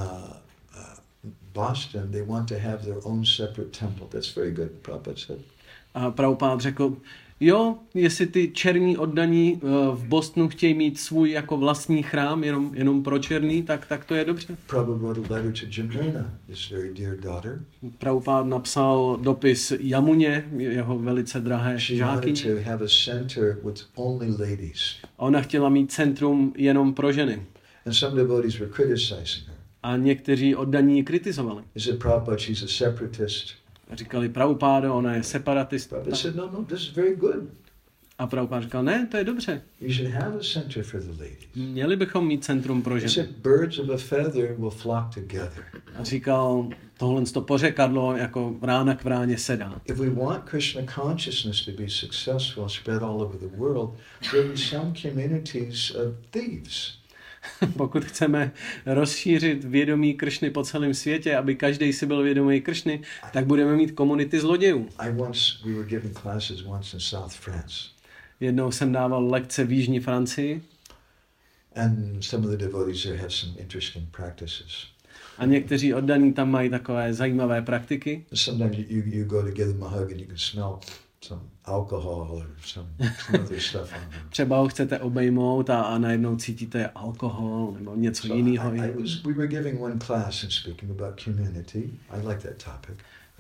Boston, they want to have their own separate temple. That's very good, Prabhupada said. A Prabhupada řekl, jo, jestli ty černí oddaní v Bostonu chtějí mít svůj jako vlastní chrám, jenom pro černý, tak to je dobře. Prabhupada wrote a letter to Jamuna, his very dear daughter. Prabhupada napsal dopis Jamuně, jeho velice drahé She wanted žákyni. to have a center with only ladies. Ona chtěla mít centrum jenom pro ženy. And some devotees were criticizing her. A někteří oddaní ji kritizovali. They said, Prabhupada, she's a separatist. Říkali, Prabhupada, ona je separatista. Prabhupada said, no, this is very good. A Prabhupada říkal, ne, to je dobře. You should have a center for the ladies. Měli bychom mít centrum pro He ženy. said, birds of a feather will flock together. A říkal, tohle to pořekadlo jako rána k vráně sedá. If we want Krishna consciousness to be successful, spread all over the world, there will be some communities of thieves. Pokud chceme rozšířit vědomí Kršny po celém světě, aby každý si byl vědomý Kršny, tak budeme mít komunity zlodějů. We were giving classes once in South France. Jednou jsem dával lekce v jižní Francii And some of the devotees there have some interesting practices. a někteří oddaní tam mají takové zajímavé praktiky. Sometimes you go to give them a hug and you can smell some alcohol or some other stuff on them. Třeba ho chcete obejmout a najednou cítíte alkohol nebo něco jiného. We were giving one class and speaking about community. I like that topic.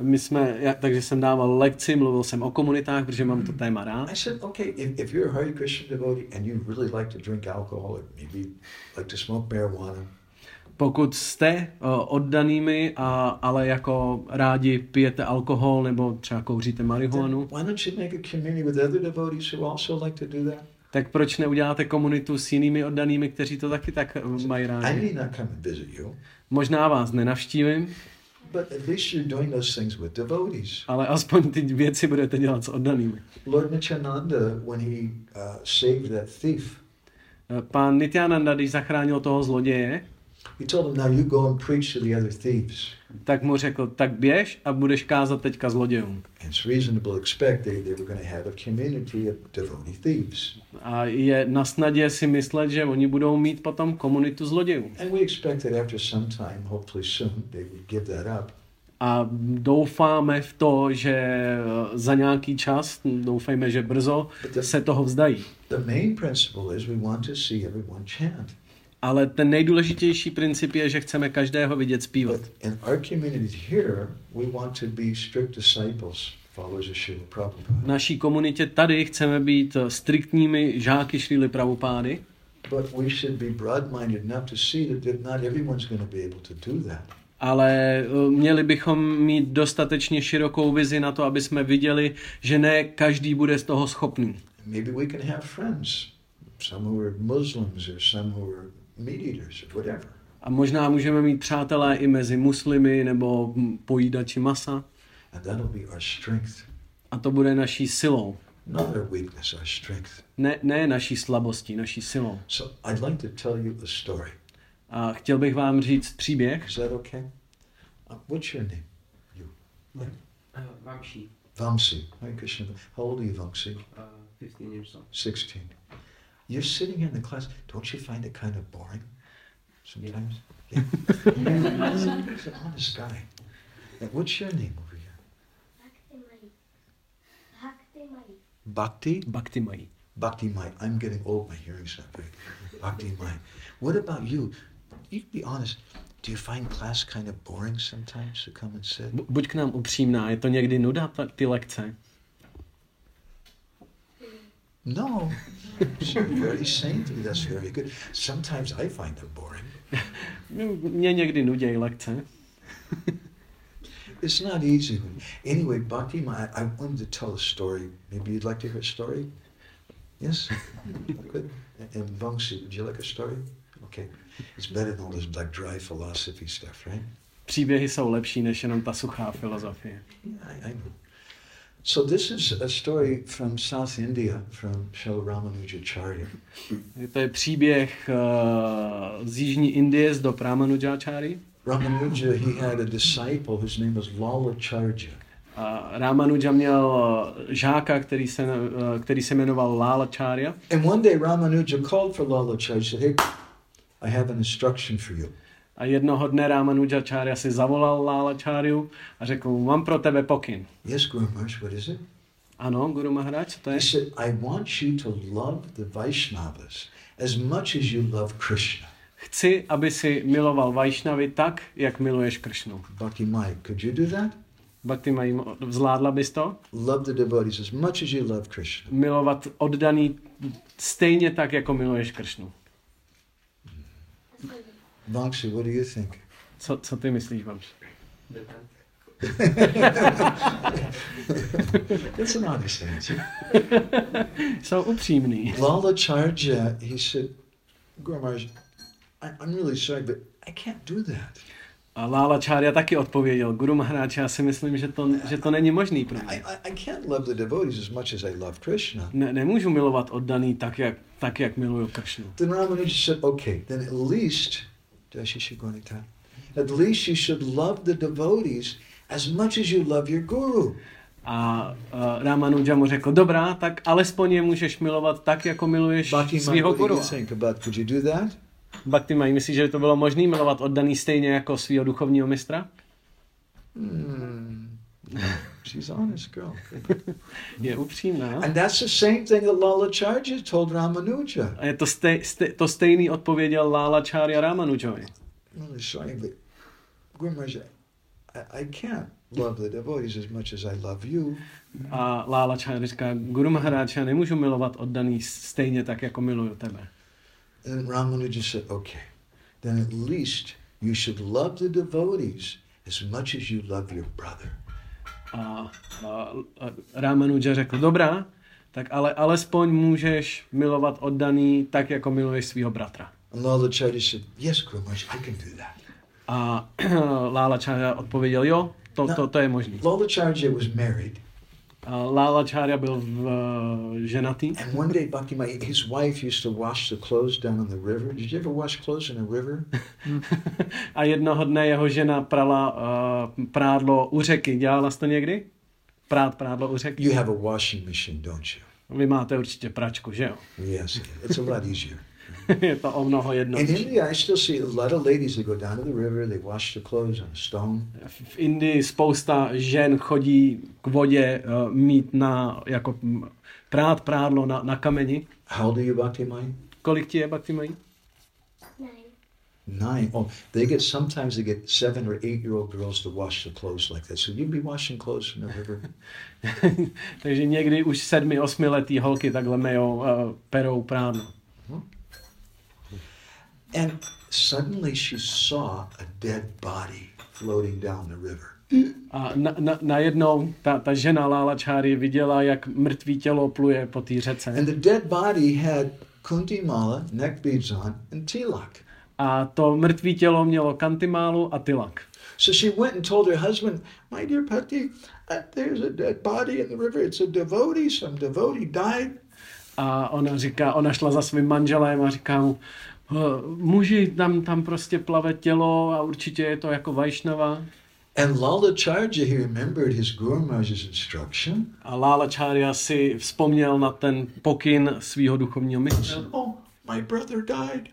Takže jsem dával lekci, mluvil jsem o komunitách, protože mám to téma rád. I said, okay, if you're a Hare Krishna devotee and you really like to drink alcohol or maybe like to smoke marijuana, pokud jste oddanými, ale jako rádi pijete alkohol nebo třeba kouříte marihuanu, why don't you make a community with other devotees who also like to do that? tak proč neuděláte komunitu s jinými oddanými, kteří to taky tak mají I rádi? may not come and visit you, Možná vás nenavštívím, but at least you're doing those things with devotees. ale aspoň ty věci budete dělat s oddanými. Lord Nityananda, when he saved that thief, Pán Nityananda, když zachránil toho zloděje, he told him, now you go and preach to the other thieves. tak mu řekl, tak běž a budeš kázat teďka zlodějům. And it's reasonable to expect they were going to have a community of devotee thieves. A je na snadě si myslet, že oni budou mít potom komunitu zlodějů. And we expect that after some time, hopefully soon, they would give that up. A doufáme v to, že za nějaký čas, doufejme, že brzo, se toho vzdají. The main principle is we want to see everyone chant. Ale ten nejdůležitější princip je, že chceme každého vidět zpívat. But in our community here, we want to be strict disciples, followers of Srila Prabhupada. V naší komunitě tady chceme být striktními žáky Šrily Prabhupády, But we should be broad-minded enough to see that not everyone's going to be able to do that. ale měli bychom mít dostatečně širokou vizi na to, aby jsme viděli, že ne každý bude z toho schopný. Maybe we can have friends, some who are Muslims or some who are meat eaters or whatever. A možná můžeme mít přátelé i mezi muslimy nebo pojídači masa. And that'll be our strength. A to bude naší silou. Not our weakness, our strength. Ne naší slabostí, naší silou. So I'd like to tell you a story. A chtěl bych vám říct příběh. Is that okay? What's your name? You. Vamshi. Vamsi. Hare Krishna. How old are you, Vamsi? 15 years old. 16. You're sitting in the class. Don't you find it kind of boring sometimes? Yeah. He's an honest guy. And what's your name over here? Bhakti? Bhakti Mai. Bhakti Mai. I'm getting old. My hearing's not very good. Bhakti Mai. What about you? You be honest. Do you find class kind of boring sometimes to come and sit? Buď k nám upřímná, je to někdy nuda, ty lekce? No. You're very saintly. That's very good. Sometimes I find them boring. Mě někdy nudějí lekce. It's not easy. Anyway, Bhakti Mai, I wanted to tell a story. Maybe you'd like to hear a story? Yes? Good. And Vamsi, would you like a story? Okay. It's better than all this like dry philosophy stuff, right? Příběhy jsou lepší než jenom ta suchá filozofie. Yeah, I know. So this is a story from South India, from Srila Ramanujacharya. To je příběh z jižní Indie z dob Ramanujáčáry. Ramanuja, he had a disciple whose name was Lalacharya. Ramanuja měl žáka, který se jmenoval Lalacharya. And one day Ramanuja called for Lalacharya. He said, "Hey, I have an instruction for you." A jednoho dne Ramanujacharya si zavolal Lalacharyu a řekl mu, mám pro tebe pokyn. Yes, Guru Maharaj, what is it? Ano, Guru Maharaj, co to je? He said, I want you to love the Vaishnavas as much as you love Krishna. Chci, aby si miloval Vajšnavy tak, jak miluješ Kršnu. Bhakti Mai, could you do that? Bhakti Mai, zvládla bys to? Love the devotees as much as you love Krishna. Milovat oddaný stejně tak, jako miluješ Kršnu. Vamsi, what do you think? Co ty myslíš, Vamsi? That's an honest answer. Jsou upřímný. Lalacharya, he said, Guru Maharaj, I'm really sorry, but I can't do that. A Lalacharya taky odpověděl, Guru Maharaj, já si myslím, že to není možný pro mě. I can't love the devotees as much as I love Krishna. Nemůžu milovat oddaný tak, jak miluju Kršnu. Then Ramanuja said, okay, then at least you should love the devotees as much as you love your guru. A Ramanuja mu řekl, dobrá, tak alespoň je můžeš milovat tak, jako miluješ svýho guru. Could you do that? Bhakti Mai, myslíš, že by to bylo možné milovat oddaný stejně jako svýho duchovního mistra? She's honest girl. Je upřímná. And that's the same thing that Lalacharya told Ramanuja. A je to stejný odpověděl Lalacharya Ramanujovi. Really sorry, but Guru Maharaj, I can't love the devotees as much as I love you. A Lalacharya říká, Guru Maharaj, já nemůžu milovat oddaný stejně tak, jako miluju tebe. And Ramanuja said, okay, then at least you should love the devotees as much as you love your brother. A Ramanuja řekl, dobrá, tak ale alespoň můžeš milovat oddaný tak, jako miluješ svýho bratra. And Lalacharya said, yes, Guru Maharaj, I can do that. A Lalacharya odpověděl, jo, to je možný. Lalacharya was married. Lalacharya byl ženatý. And one day, Bhakti Mai, his wife used to wash the clothes down on the river. Did you ever wash clothes in a river? A jednoho dne jeho žena prala prádlo u řeky. Dělala jsi to někdy? Prádlo u řeky? You have a washing machine, don't you? Vy máte určitě pračku, že jo? Yes, it's a lot easier. Je to o mnoho In jednodušší. India, I still see a lot of ladies that go down to the river, they wash their clothes on a stone. V Indii spousta žen chodí k vodě mít jako prát prádlo na kameni. How old are you, Bhakti Mai? Kolik ti je, Bhakti Mai? 9. Oh, sometimes they get 7 or 8-year-old girls to wash their clothes like that. So you'd be washing clothes in the river. Takže někdy už 7-8 letý holky takhle perou prádlo. And suddenly she saw a dead body floating down the river. A najednou ta žena Lalacharya viděla, jak mrtvý tělo pluje po té řece. And the dead body had kunti mala, neck beads on, and tilak. A to mrtvé tělo mělo kantimálu a tilak. So she went and told her husband, my dear Pati, there's a dead body in the river. It's a devotee. Some devotee died. A ona šla za svým manželem a říká mu, muži, tam prostě plave tělo a určitě je to jako Vajšnava. And Lalacharya, he remembered his Guru Maharaj's instruction. A Lalacharya si vzpomněl na ten pokyn svého duchovního mistra. Oh, my brother died.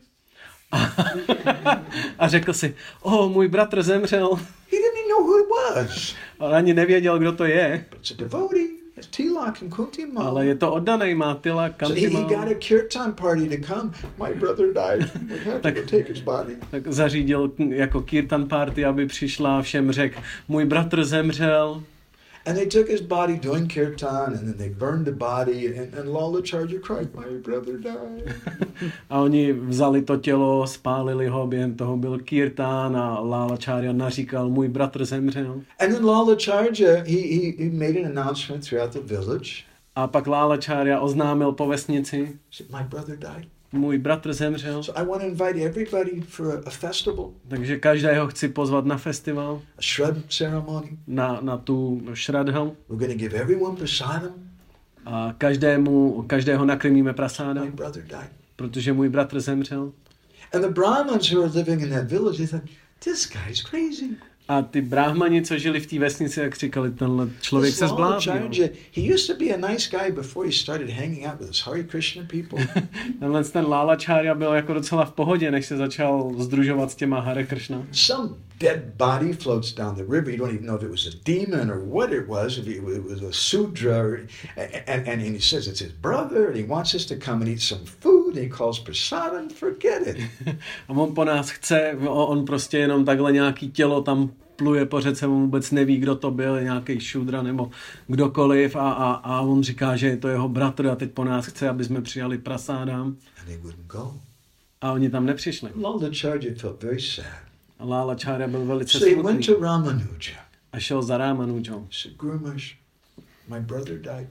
A řekl si, můj bratr zemřel. He didn't even know who it was. On ani nevěděl, kdo to je. But it's a devotee. It's Tilak and Kuntimal. Ale je to oddanej, má Tilak, So he Kantimal. got a kirtan party to come. My brother died. We have to go take his body. Tak zařídil jako kirtan party, aby přišla a všem řekl, můj bratr zemřel. And they took his body doing kirtan, and then they burned the body, and Lalacharya cried, my brother died. A oni vzali to tělo, spálili ho, během toho byl kirtán a Lalacharya naříkal, můj bratr zemřel. And then Lalacharya, he made an announcement throughout the village. A pak Lalacharya oznámil po vesnici, He said, my brother died. můj bratr zemřel. So I want to invite everybody for a festival, Takže každého chci pozvat na festival, a Shrad ceremony. na tu šradhu. We're going to give everyone prasadam. A každého nakrmíme prasáda, My brother died. protože můj bratr zemřel. And the Brahmins who were living in that village, they thought, this guy's crazy. A ty bráhmani, co žili v té vesnici, jak říkali, tenhle člověk This se zbláznil. Lalacharya, he used to be a nice guy before he started hanging out with his Hare Krishna people. Ten Lalacharya byl jako docela v pohodě, než se začal sdružovat s těma Hare Krishna. Some dead body floats down the river. You don't even know if it was a demon or what it was, if it was a sudra. And he says it's his brother, and he wants us to come and eat some food, and he calls prasadam, forget it. A on po nás chce, on prostě jenom takhle nějaký tělo tam pluje po řece, on vůbec neví, kdo to byl, nějaký šudra nebo kdokoliv a on říká, že je to jeho bratr a teď po nás chce, aby jsme přijali prasádám. And they wouldn't go. A oni tam nepřišli. Lalacharya felt very sad. A Lalacharya byl velice So he went smutný to Ramanuja. a šel za Ramanujou. He said, Guru Maharaj, my brother died.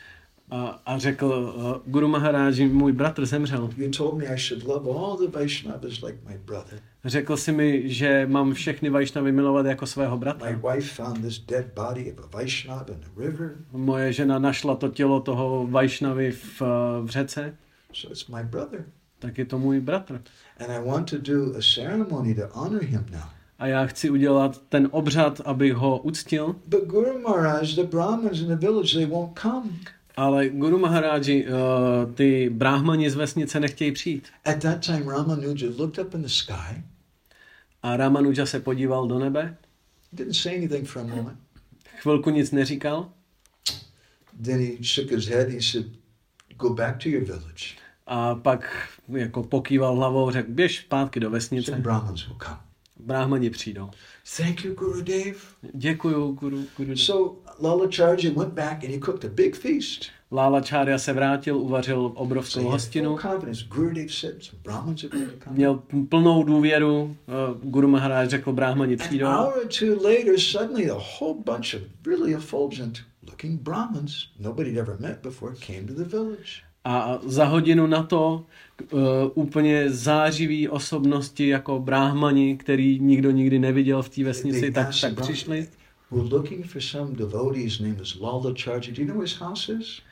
A řekl, Guru Maharáji, můj bratr zemřel. You told me I should love all the Vaishnavas like my brother. Řekl si mi, že mám všechny Vajšnavy milovat jako svého My bratra. wife found this dead body of a Vaishnava in the river, Moje žena našla to tělo toho Vajšnavy v řece, so it's my brother. tak je to můj bratr. And I want to do a ceremony to honor him now. A já chci udělat ten obřad, abych ho uctil, But Guru Maharaj, the Brahmins in the village, they won't come. ale Guru Maharáji, ty bráhmani z vesnice nechtějí přijít. At that time, Ramanuja looked up in the sky, A Ramanuja se podíval do nebe, didn't say anything for a moment. chvilku nic neříkal Then he shook his head. He said, go back to your village. a pak jako pokýval hlavou, řekl, běž zpátky do Some vesnice, Brahmins will come. bráhmani přijdou. Thank you, Gurudev. Děkuju, Guru. So Lalacharya went back and he cooked a big feast. Lalacharya se vrátil, uvařil So obrovskou he had hostinu. full confidence. Gurudev said some Brahmins are going to come. Měl plnou důvěru, Guru Maharaj řekl, bráhmani An přijdou. hour or two later, suddenly a whole bunch of really effulgent looking Brahmins nobody ever met before came to the village. A za hodinu na to úplně zářivý osobnosti jako bráhmani, který nikdo nikdy neviděl v té vesnici, tak přišli. We're looking for some devotee. His name is Lalacharya. Do you know where his house is?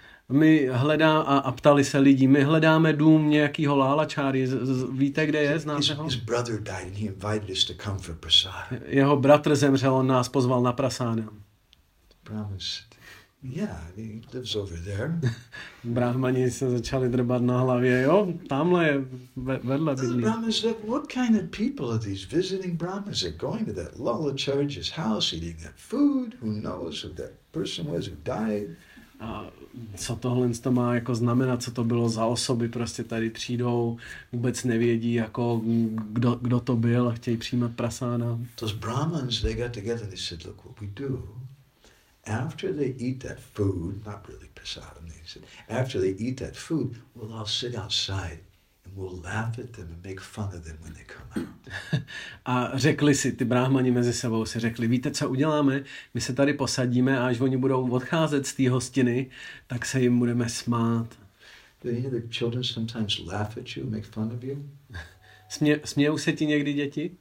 A ptali se lidi, my hledáme dům nějakýho Lalacharyi, víte, kde je, znáte ho? His brother died and he invited us to come for prasad. Jeho bratr zemřel, on nás pozval na prasáda. Brahmins said, yeah, he lives over there. Bráhmani se začali drbat na hlavě, jo, tamhle je vedle The bydlí. Brahmins said, what kind of people are these visiting Brahmins? They're going to that Lalacharya's house, eating that food. Who knows who that person was who died? A co tohle to má jako znamenat, co to bylo za osoby, prostě tady přijdou, vůbec nevědí, jako kdo to byl a chtějí přijímat prasáda. Those Brahmins, they got together and they said, look, what we do, after they eat that food, not really prasadam, they said, after they eat that food, we'll all sit outside and we'll laugh at them and make fun of them when they come out. A řekli si, ty bráhmani mezi sebou si řekli, víte, co uděláme? My se tady posadíme a až oni budou odcházet z té hostiny, tak se jim budeme smát. Do any of the children sometimes laugh at you, make fun of you? Smějou se ti někdy děti?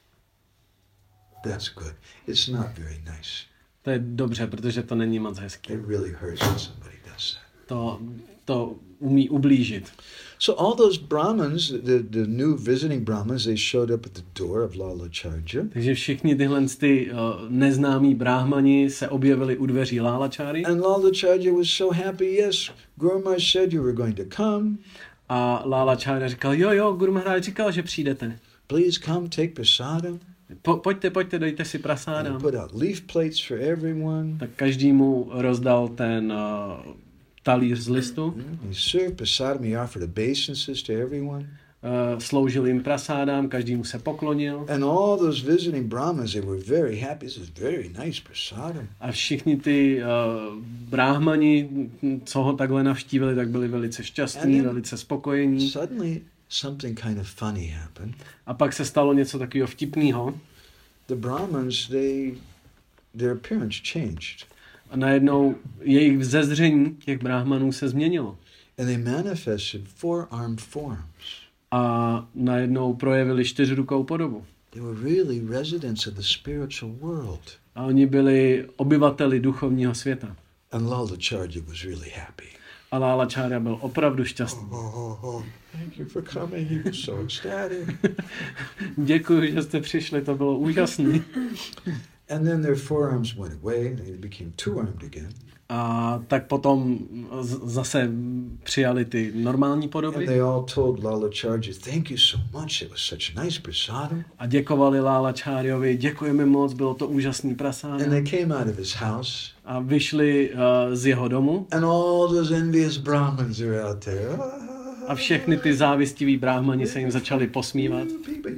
That's good. It's not very nice. To je dobře, protože to není moc hezký. It really hurts when somebody does that. To umí ublížit. So all those Brahmins, the new visiting Brahmins, they showed up at the door of Lalacharya. Takže všichni tyhle neznámí bráhmani se objevili u dveří Lálacháry. And Lalacharya was so happy. Yes, Guru Maharaj said you were going to come. A Lálachára říkal, jo, Guru Maharaj říkal, že přijdete. Please come, take prasadam. Pojďte, dejte si prasádam. And put out leaf plates for everyone. Tak každému rozdal ten talíř z listu. He served prasadam. He offered obeisances to everyone. Sloužil jim prasádám, každému se poklonil. And all those visiting Brahmins, they were very happy. This is very nice prasadam. A všichni ty bráhmani, co ho takhle navštívili, tak byli velice šťastní, velice spokojení. Suddenly, something kind of funny happened. A pak se stalo něco takového vtipného. The Brahmins, their appearance changed. A najednou jejich vzezření těch bráhmanů se změnilo. And they manifested four-armed forms. A najednou projevili čtyřrukou podobu. They were really residents of the spiritual world. A oni byli obyvateli duchovního světa. And Lalacharya was really happy. A Lálachára byl opravdu šťastný. Thank you for coming. He was so ecstatic. Děkuji, že jste přišli, to bylo úžasné. And then their forearms went away and they became two-armed again. A tak potom zase přijali ty normální podoby. And they all told Lalacharya, thank you so much. It was such nice prasadam. A děkovali Lálacharyovi, děkujeme moc, bylo to úžasný prasádam. And they came out of his house. A vyšli z jeho domu. And all those envious Brahmins are out there. A všechny ty závistivý bráhmani se jim začali posmívat.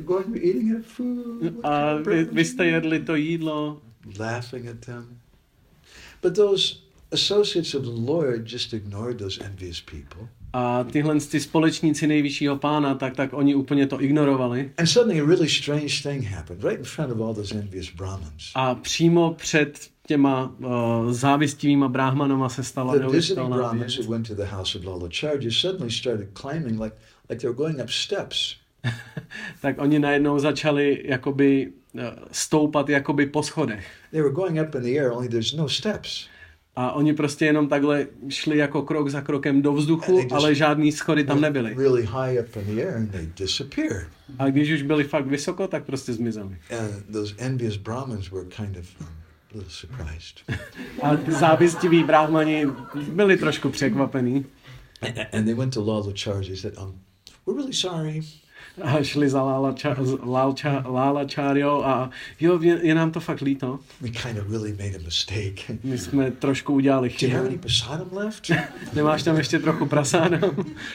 A vy jste jedli to jídlo. Laughing at them. But those associates of the Lord just ignored those envious people. A tyhle ty společníci nejvyššího pána, tak oni úplně to ignorovali. And suddenly a really strange thing happened right in front of all those envious Brahmins. A přímo před těma závistivýma bráhmanama se stala neuvěřitelná věc. Who went to the house of Lalacharya suddenly started climbing like they were going up steps. Tak oni najednou začali jakoby stoupat jakoby po schodech. They were going up in the air, only there's no steps. A oni prostě jenom takhle šli jako krok za krokem do vzduchu, ale žádný schody tam nebyly. Really high up in the air and they disappeared. A když už byli fakt vysoko, tak prostě zmizeli. And those envious Brahmins were kind of a little surprised. A ty závistiví bráhmani byli trošku překvapení. And they went to Lalacharya and said, we're really sorry. A šli za Lálacháryou a jo, je nám to fakt líto. We kind of really made a mistake. My jsme trošku udělali chybu. Do you have any prasadam left? Nemáš tam ještě trochu prasádam?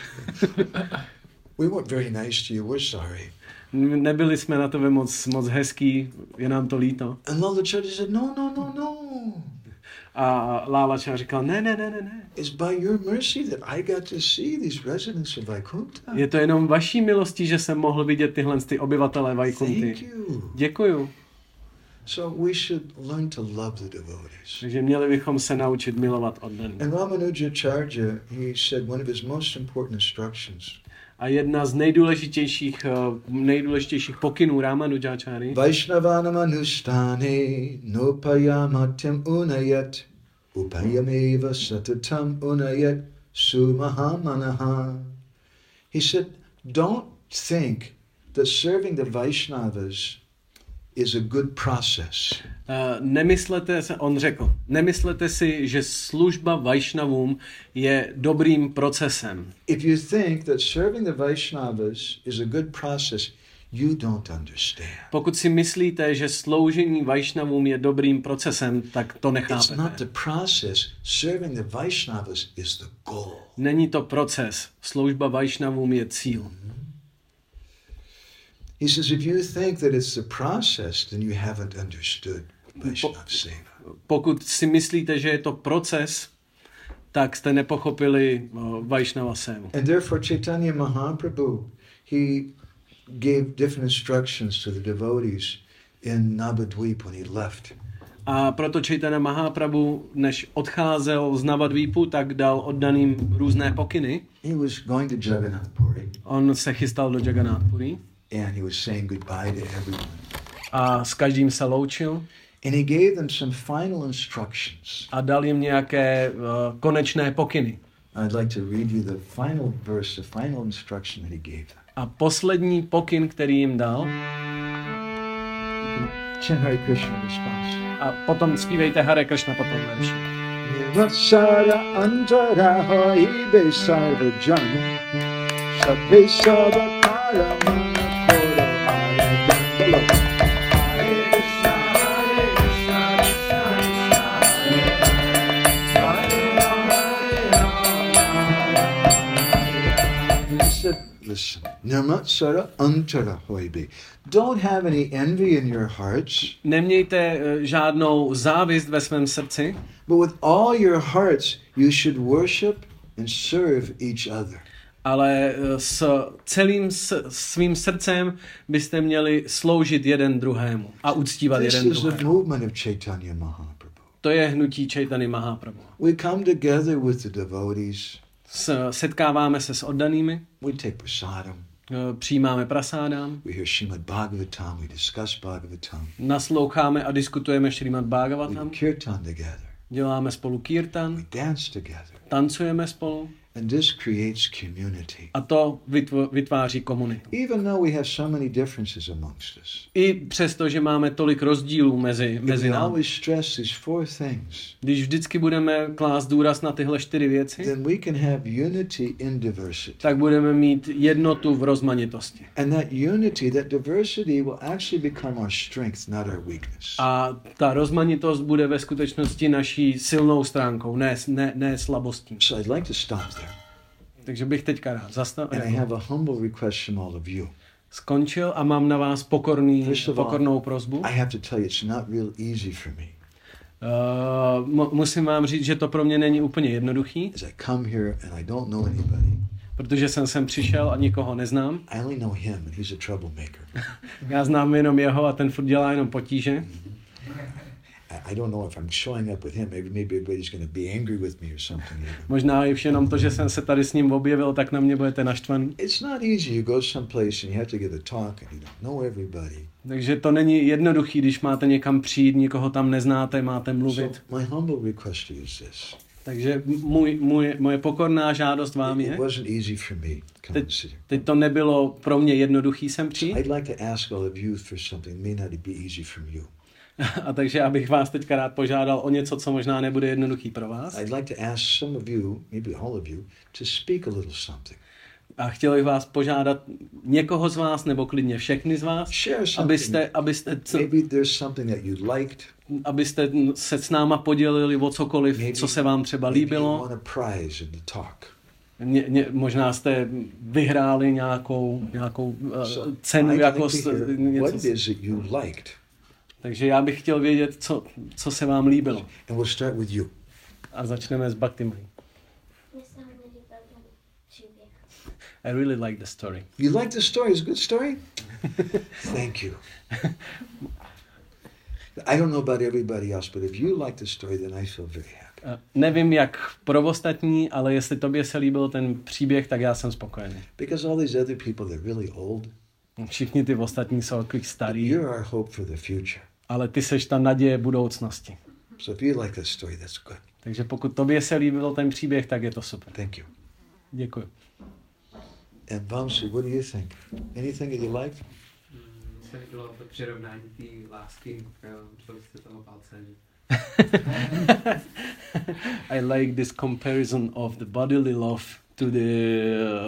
We weren't very nice to you, we're sorry. Nebyli jsme na tebe moc hezký, je nám to líto. And Lalacharya said, no. A Lálachára říkal, ne. It's by your mercy that I got to see these residents of Vaikuntha. Je to jenom vaší milostí, že jsem mohl vidět tyhle ty obyvatele Vaikunty. Thank you. Děkuju. So we should learn to love the devotees. Takže měli bychom se naučit milovat oddaný. And Ramanujacharya, he said one of his most important instructions. A jedna z nejdůležitějších pokynů Ramanujacháry. Vaishnavanam anusthane nopayamatyam unayat upayameva satatam unayat sumahamanaha. He said, don't think that serving the Vaishnavas is a good process. Nemyslete si, že služba Vaishnavům je dobrým procesem. If you think that serving the Vaishnavas is a good process, you don't understand. Pokud si myslíte, že sloužení Vaishnavům je dobrým procesem, tak to nechápete. It's not the process. Serving the Vaishnavas is the goal. Není to proces. Služba Vaishnavům je cíl. He says, if you think that it's the process, then you haven't understood Vaishnava Seva. Pokud si myslíte, že je to proces, tak jste nepochopili Vaishnava Sevu. And therefore Chaitanya Mahaprabhu, he gave different instructions to the devotees in Navadvip when he left. A proto Chaitanya Mahaprabhu, než odcházel z Navadvipu, tak dal oddaným různé pokyny. He was going to Jagannath Puri. On se chystal do Jagannath Puri. and he was saying goodbye to everyone. A s každým se loučil. And he gave them some final instructions. A dal jim nějaké konečné pokyny. I'd like to read you the final verse, the final instruction that he gave them. A poslední pokyn, který jim dal. Chant Hare Krishna in response. A potom zpívejte Hare Krishna po tom verši. Vatsara antara hoibe sarvajan sabbe sabakara manaporo aradandalo. Listen, Namatsara antara hoibe. Don't have any envy in your hearts. Nemějte žádnou závist ve svém srdci. But with all your hearts, you should worship and serve each other. Ale s celým svým srdcem byste měli sloužit jeden druhému a uctívat jeden This is the druhého. movement of Chaitanya Mahaprabhu. To je hnutí Chaitanya Mahaprabhu. We come together with the devotees. Setkáváme se s oddanými, We take prasadam. přijímáme prasádám, We hear Srimad Bhagavatam. We discuss Bhagavatam. nasloucháme a diskutujeme Šrimad We Bhagavatam, kirtan together. děláme spolu kirtan, We dance together. tancujeme spolu And this creates community. a to vytváří komunitu. Even though we have so many differences amongst us, I přesto, že máme tolik rozdílů if mezi we námi. always stress these four things, Když vždycky budeme klást důraz na tyhle 4 věci, then we can have unity in diversity. tak budeme mít jednotu v rozmanitosti. And that unity, that diversity will actually become our strength, not our weakness. A ta rozmanitost bude ve skutečnosti naší silnou stránkou, ne slabostí. So I'd like to stop there. Takže bych teďka rád And I have a humble request from all of you. skončil a mám na vás pokornou prosbu. I have to tell you, it's not real easy for me. Musím vám říct, že to pro mě není úplně jednoduchý, As I come here and I don't know anybody, protože jsem sem přišel a nikoho neznám. I only know him and he's a troublemaker. Já znám jenom jeho a ten furt dělá jenom potíže. I don't know if I'm showing up with him, maybe everybody's going to be angry with me or something. Možná i jenom to, že jsem se tady s ním objevil, tak na mě budete naštvaný. It's not easy. You go someplace and you have to give a talk and you don't know everybody. Takže to není jednoduchý, když máte někam přijít, nikoho tam neznáte, máte mluvit. So my humble request to you is this. Takže moje pokorná žádost vám It je, wasn't easy for me to come and sit here. teď to nebylo pro mě jednoduchý sem přijít, I'd like to ask all of you for something that may not be easy from you. a takže já bych vás teďka rád požádal o něco, co možná nebude jednoduchý pro vás. I'd like to ask some of you, maybe all of you, to speak a little something. A chtěl bych vás požádat někoho z vás, nebo klidně všechny z vás, Share something. Maybe there's something that you liked. Abyste se s náma podělili o cokoliv, co se vám třeba Maybe you líbilo. won a prize in the talk. Možná jste vyhráli nějakou cenu, I'd jako like to hear what it is that you liked. Takže já bych chtěl vědět, co se vám líbilo. And we'll start with you. A začneme s Bhaktimai. I really like the story. You like the story? It's a good story? Thank you. I don't know about everybody else, but if you like the story, then I feel very happy. Nevím, jak pro ostatní, ale jestli tobě se líbil ten příběh, tak já jsem spokojený. Because all these other people, they're really old. Všichni ty ostatní jsou takový starý, You're our hope for the future. ale ty seš ta naděje budoucnosti. So if you like that story, that's good. Takže pokud tobě se líbil ten příběh, tak je to super. Thank you. Děkuji. And Vamsi, what do you think? Anything that you liked? Se líbilo to přirovnání té lásky, co jste toho palce. I like this comparison of the bodily love to the,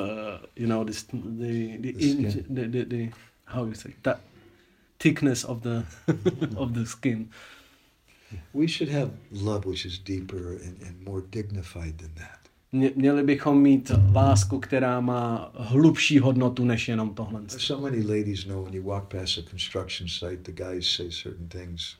the how you say that thickness of the of the skin. We should have love which is deeper and more dignified than that. Měli bychom mít lásku, která má hlubší hodnotu než jenom tohle. So many ladies know when you walk past a construction site, the guys say certain things.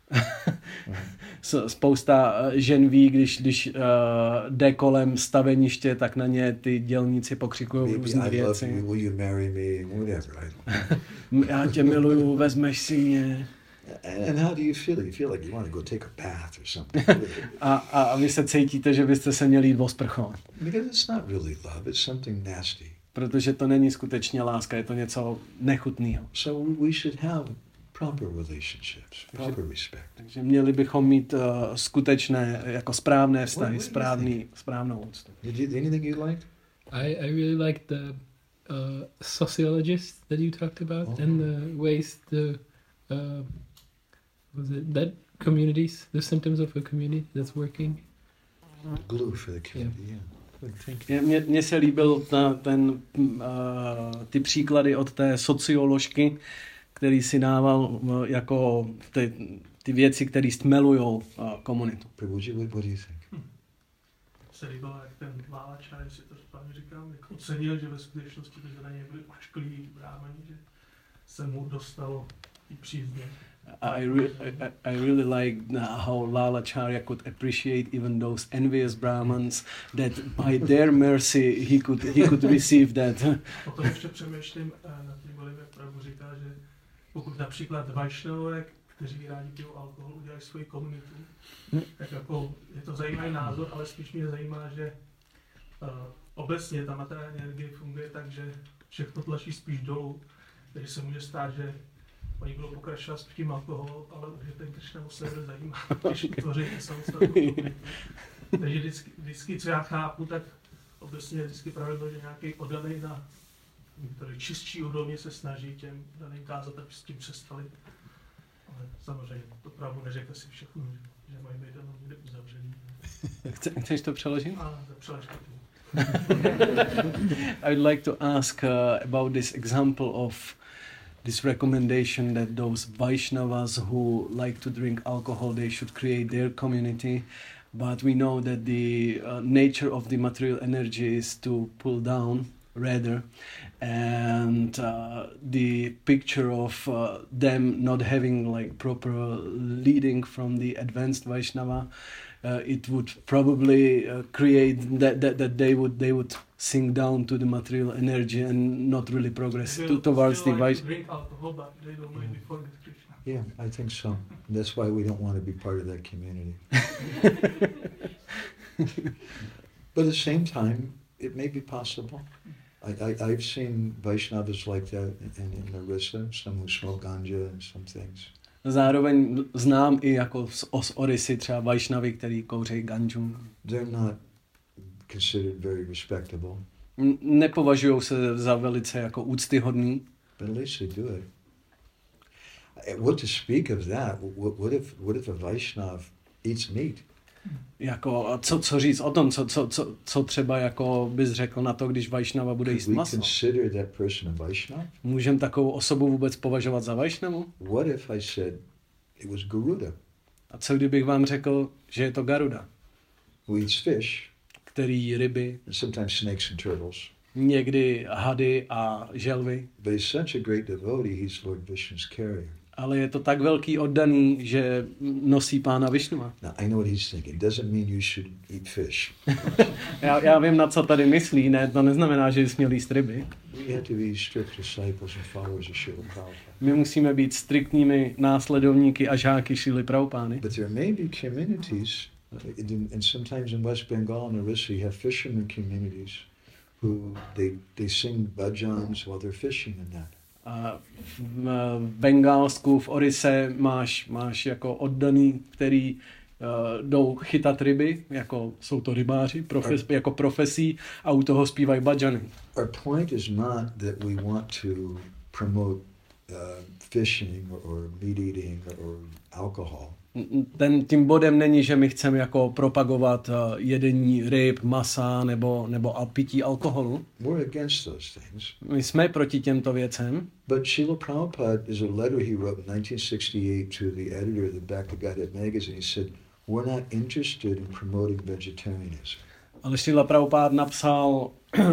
Spousta žen ví, když jde kolem staveniště, tak na ně ty dělníci pokřikují různé věci. You, will you marry me? Whatever. I Já tě miluju, vezmeš si mě. And how do you feel? You feel like you want to go take a bath or something. A vy se cítíte, že byste se měli jít osprchovat. Because it's not really love, it's something nasty. protože to není skutečně láska, je to něco nechutného. So we should have proper relationships, proper respect. Takže měli bychom mít skutečné, jako správné vztahy, What do you správnou úctu. Anything you like? I really like the sociologists that you talked about and the ways that communities, the symptoms of a community that's working. Glue for the community, yeah. Good, thank you. Mně se líbil ty příklady od té socioložky, který si dával jako ty věci, které stmelujou komunitu. Prabhuji, what do you think? Se líbilo, jak ten Lálačár, jestli to správně říkám, jak ocenil, že ve skutečnosti to na něj byli ošklí brámani, že se mu dostalo i přízně. I really like how Lalacharya could appreciate even those envious Brahmins, that by their mercy he could receive that. Potom ještě přemýšlím nad tím, jak Prabhu říká, že pokud například Vajšnavové, kteří rádi pijou alkohol, udělají svoji komunitu, tak jako je to zajímavý názor, ale spíš mě zajímá, že obecně ta materiální energie funguje tak, že všechno tlačí spíš dolů, takže se může stát, že oni budou pokračovat s tím alkoholu, ale že ten Krishna se nebude zajímat, když tvoří samostatnou komunitu. Takže vždycky, co já chápu, tak obecně vždycky pravidlo, že nějaký oddaný na který čistší úrovně se snaží těm daným kázat, aby s tím přestali. Ale samozřejmě to Prabhu neřekl si všechno, že mají být jenom někde uzavřený. Chceš to přeložit? A přelož to. I would like to ask about this example of this recommendation that those Vaishnavas who like to drink alcohol, they should create their community. But we know that the nature of the material energy is to pull down rather, and the picture of them not having like proper leading from the advanced Vaishnava, it would probably create that they would sink down to the material energy and not really progress towards the Vaishnava. Drink alcohol, but they don't mind before the Krishna. Yeah, I think so. That's why we don't want to be part of that community. But at the same time, it may be possible. I've seen Vaishnavas like that in Orissa, some who smoke ganja and some things. Zároveň znám i jako z Orisy třeba Vaishnavy, který kouří ganju. They're not considered very respectable. Nepovažují se za velice jako úctyhodný. But at least they do it. What to speak of that? What if a Vaishnav eats meat? Jako, co říct o tom, co třeba jako bys řekl na to, když Vaishnava bude jíst maso? Můžeme takovou osobu vůbec považovat za Vaishnavu? What if I said it was Garuda? A co kdybych vám řekl, že je to Garuda? Who eats fish? Který jí ryby. And sometimes snakes and turtles. Někdy hady a želvy. But he's such a great devotee, he's Lord Vishnu's carrier. Ale je to tak velký oddaný, že nosí pána Višnua. Now, I know what he's thinking. Doesn't mean you should eat fish. já vím, na co tady myslí, ne, to neznamená, že směl jíst ryby. We have to be strict disciples and followers of Srila Prabhupada. My musíme být striktními následovníky a žáky Šrily Prabhupády. But there may be communities, and sometimes in West Bengal and Orissa, you have fishermen communities who they sing bhajans while they're fishing and that. A v Bengálsku, v Orise máš jako oddaný, který jdou chytat ryby, jako jsou to rybáři, jako profesí, a u toho zpívají bhajany. Our point is not that we want to promote fishing or meat eating or alcohol. Tím bodem není, že my chceme jako propagovat jedení ryb, masa nebo pití alkoholu. We're against those things. My jsme proti těmto věcem. But Srila Prabhupada, is a letter he wrote in 1968 to the editor of the Back to Godhead magazine. He said, we're not interested in promoting vegetarianism. Ale Srila Prabhupada napsal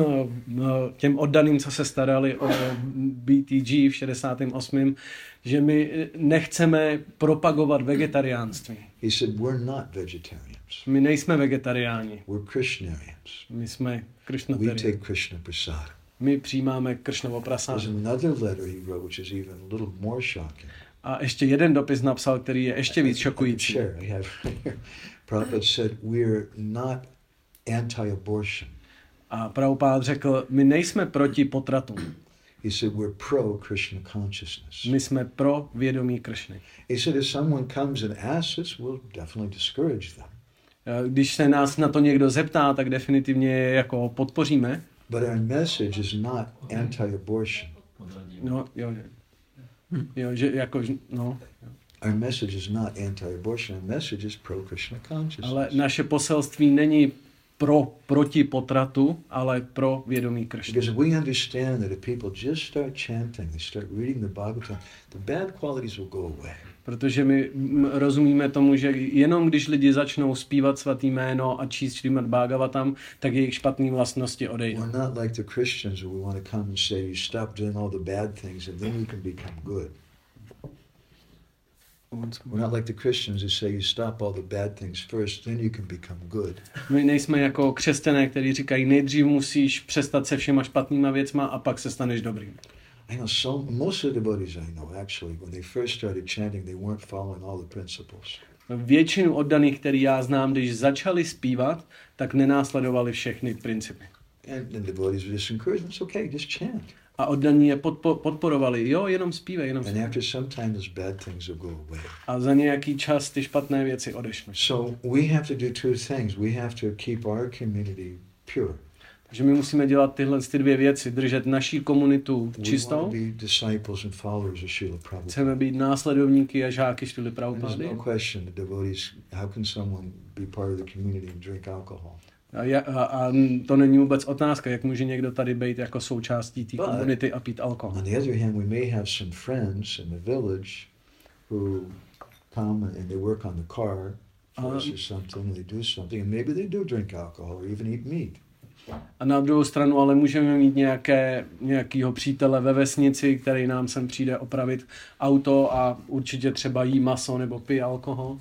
těm oddaným, co se starali o BTG v 68., že my nechceme propagovat vegetariánství. He said, we're not vegetarians. My nejsme vegetariáni. We're Krishnarians. My jsme We Krishnatariáni. take Krishna prasad. My přijímáme Kršnovo prasádu. There's another letter he wrote, which is even a little more shocking. A ještě jeden dopis napsal, který je ještě víc šokující. Prabhupada said, we're not anti-abortion. A Prabhupád řekl, my nejsme proti potratům. He said we're pro Krishna consciousness. My jsme pro vědomí Kršny. He said if someone comes and asks us, we'll definitely discourage them. Když se nás na to někdo zeptá, tak definitivně je jako podpoříme. But our message is not anti-abortion. No, jo. Jo, že jako, no. Our message is not anti-abortion. Our message is pro-Krishna consciousness. Ale naše poselství není proti potratu, ale pro vědomí Kršny. Because we understand that if people just start chanting, they start reading the Bhagavatam, the bad qualities will go away. Protože my rozumíme tomu, že jenom když lidi začnou zpívat svatý jméno a číst Šrímad Bhagavatam, tak jejich špatné vlastnosti odejdou. We're not like the Christians where we want to come and say, you stop doing all the bad things and then you can become good. We're not like the Christians who say you stop all the bad things first, then you can become good. My nejsme jako křesťané, kteří říkají, nejdřív musíš přestat se všema špatnýma věcma a pak se staneš dobrým. I know most of the devotees I know actually, when they first started chanting, they weren't following all the principles. Většinu oddaných, který já znám, když začali zpívat, tak nenásledovali všechny principy. And devotees were just encouraged, it's okay, just chant. A oddaní je podporovali, jo, jenom zpívej, jenom And zpívej. after some time, those bad things will go away. A za nějaký čas ty špatné věci odešly. So we have to do two things. We have to keep our community pure. Takže my musíme dělat tyhle dvě věci, držet naší komunitu We want to čistou. be disciples and followers of Srila Prabhupada. Chceme být následovníky a žáky Šrily And there's Prabhupády. no question, the devotees, how can someone be part of the community and drink alcohol? A to není vůbec otázka, jak může někdo tady být jako součástí té komunity a pít alkohol. On the other hand, we may have some friends in the village who come and they work on the car for us or something, and they do something, and maybe they do drink alcohol or even eat meat. A na druhou stranu ale můžeme mít nějakýho přítele ve vesnici, který nám sem přijde opravit auto a určitě třeba jí maso nebo pije alkohol.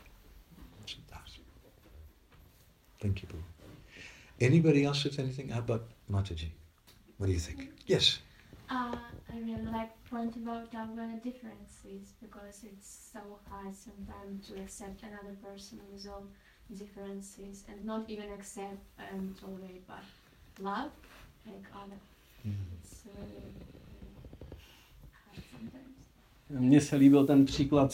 Thank you, Boo. Anybody else with anything? How about Mataji? What do you think? Yes. I really like point about our differences because it's so hard sometimes to accept another person with all differences and not even accept and tolerate, but love like other. It's hard sometimes. Mně se líbil ten příklad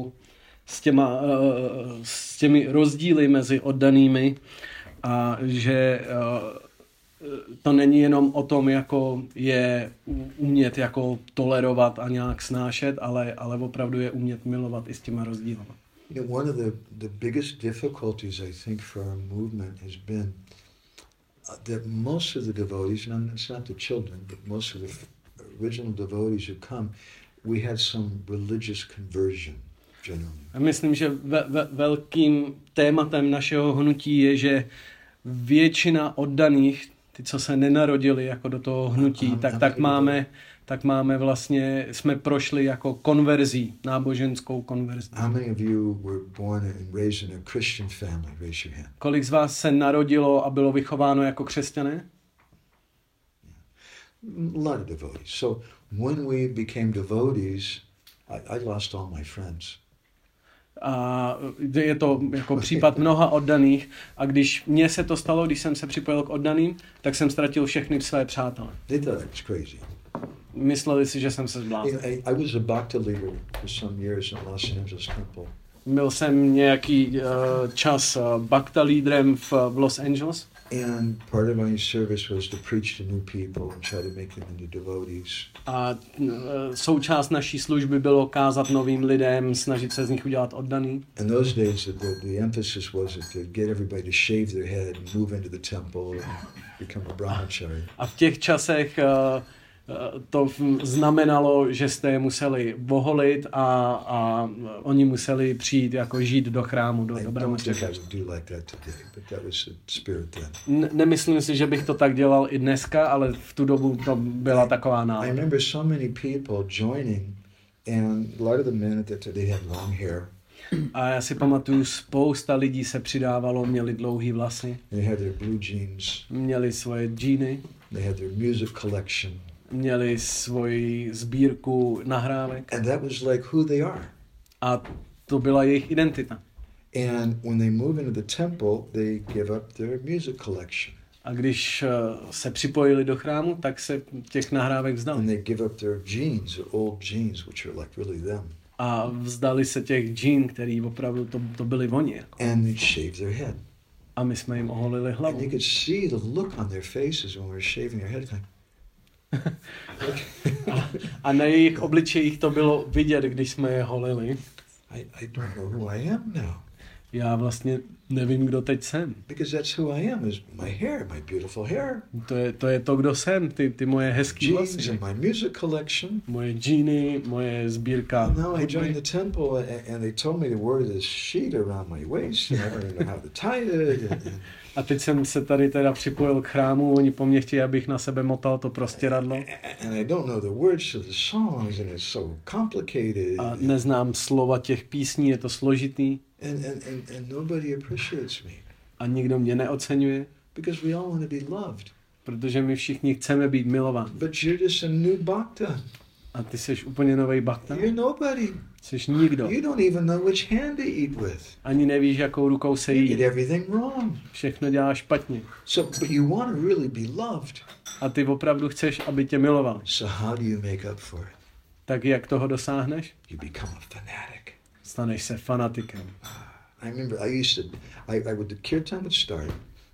s těmi rozdíly mezi oddanými a že to není jenom o tom, jako je umět jako tolerovat a nějak snášet, ale opravdu je umět milovat i s těma rozdíly. You know, one of the biggest difficulties, I think, for our movement has been that most of the devotees, and it's not the children, but most of the original devotees who come, we had some religious conversion. Myslím, že velkým tématem našeho hnutí je, že většina oddaných, ty, co se nenarodili jako do toho hnutí, tak máme vlastně, jsme prošli jako konverzí, náboženskou konverzí. How many of you were born and raised in a Christian family? Raise your hand. Kolik z vás se narodilo a bylo vychováno jako křesťané? A lot of devotees. So when we became devotees, I lost all my friends. A je to jako případ mnoha oddaných a když mně se to stalo, když jsem se připojil k oddaným, tak jsem ztratil všechny své přátele. They thought I was crazy. Mysleli si, že jsem se zbláznil. I was a bhakti leader for some years in Los Angeles Temple. Byl jsem nějaký čas bhakta lídrem v Los Angeles. And part of my service was to preach to new people and try to make them into devotees. A součást naší služby bylo kázat novým lidem, snažit se z nich udělat oddaný. In those days, the emphasis was to get everybody to shave their head and move into the temple and become a brahmachari. A v těch časech to znamenalo, že jste je museli voholit a oni museli přijít jako žít do chrámu, do brahmacharya. Nemyslím si, že bych to tak dělal i dneska, ale v tu dobu to byla taková nálada. I remember so many people joining, and a lot of the men they had long hair. A já si pamatuju, spousta lidí se přidávalo, měli dlouhý vlasy. They had their blue jeans. Měli svoje džíny. They had their music collection. Měli svoji sbírku nahrávek. And that was like who they are. A to byla jejich identita. And when they move into the temple, they give up their music collection. A když se připojili do chrámu, tak se těch nahrávek And vzdali. they give up their jeans, their old jeans, which are like really them. A vzdali se těch džín, který opravdu to byli oni. Jako. And they shave their head. A my jsme jim oholili And hlavu. you could see the look on their faces when we were shaving their head. Like, A na jejich obličejích to bylo vidět, když jsme je holili. I don't know who I am now. Já vlastně nevím, kdo teď jsem. Because that's who I am, is my hair, my beautiful hair. To je to, kdo jsem, ty moje hezký Jeans vlasy. and my music collection. Moje džíny, moje sbírka. And now I hudby. joined the temple and they told me to wear this sheet around my waist and I don't even know how to tie it. And A teď jsem se tady teda připojil k chrámu, oni po mně chtějí, abych na sebe motal to prostěradlo. and I don't know the words to the songs and it's so complicated. A neznám slova těch písní, je to složitý. And nobody appreciates me. A nikdo mě neoceňuje, Because we all want to be loved. protože my všichni chceme být milováni. But you're just a new bhakta. A ty jsi úplně novej bhakta? You're nobody. Jsi nikdo. You don't even know which hand to eat with. Ani nevíš, jakou rukou se You jí. did everything wrong. Všechno děláš špatně. So, but you want to really be loved. A ty opravdu chceš, aby tě miloval. So how do you make up for it? Tak jak toho dosáhneš? You become a fanatic. Staneš se fanatikem. I remember I would, the kirtan would start.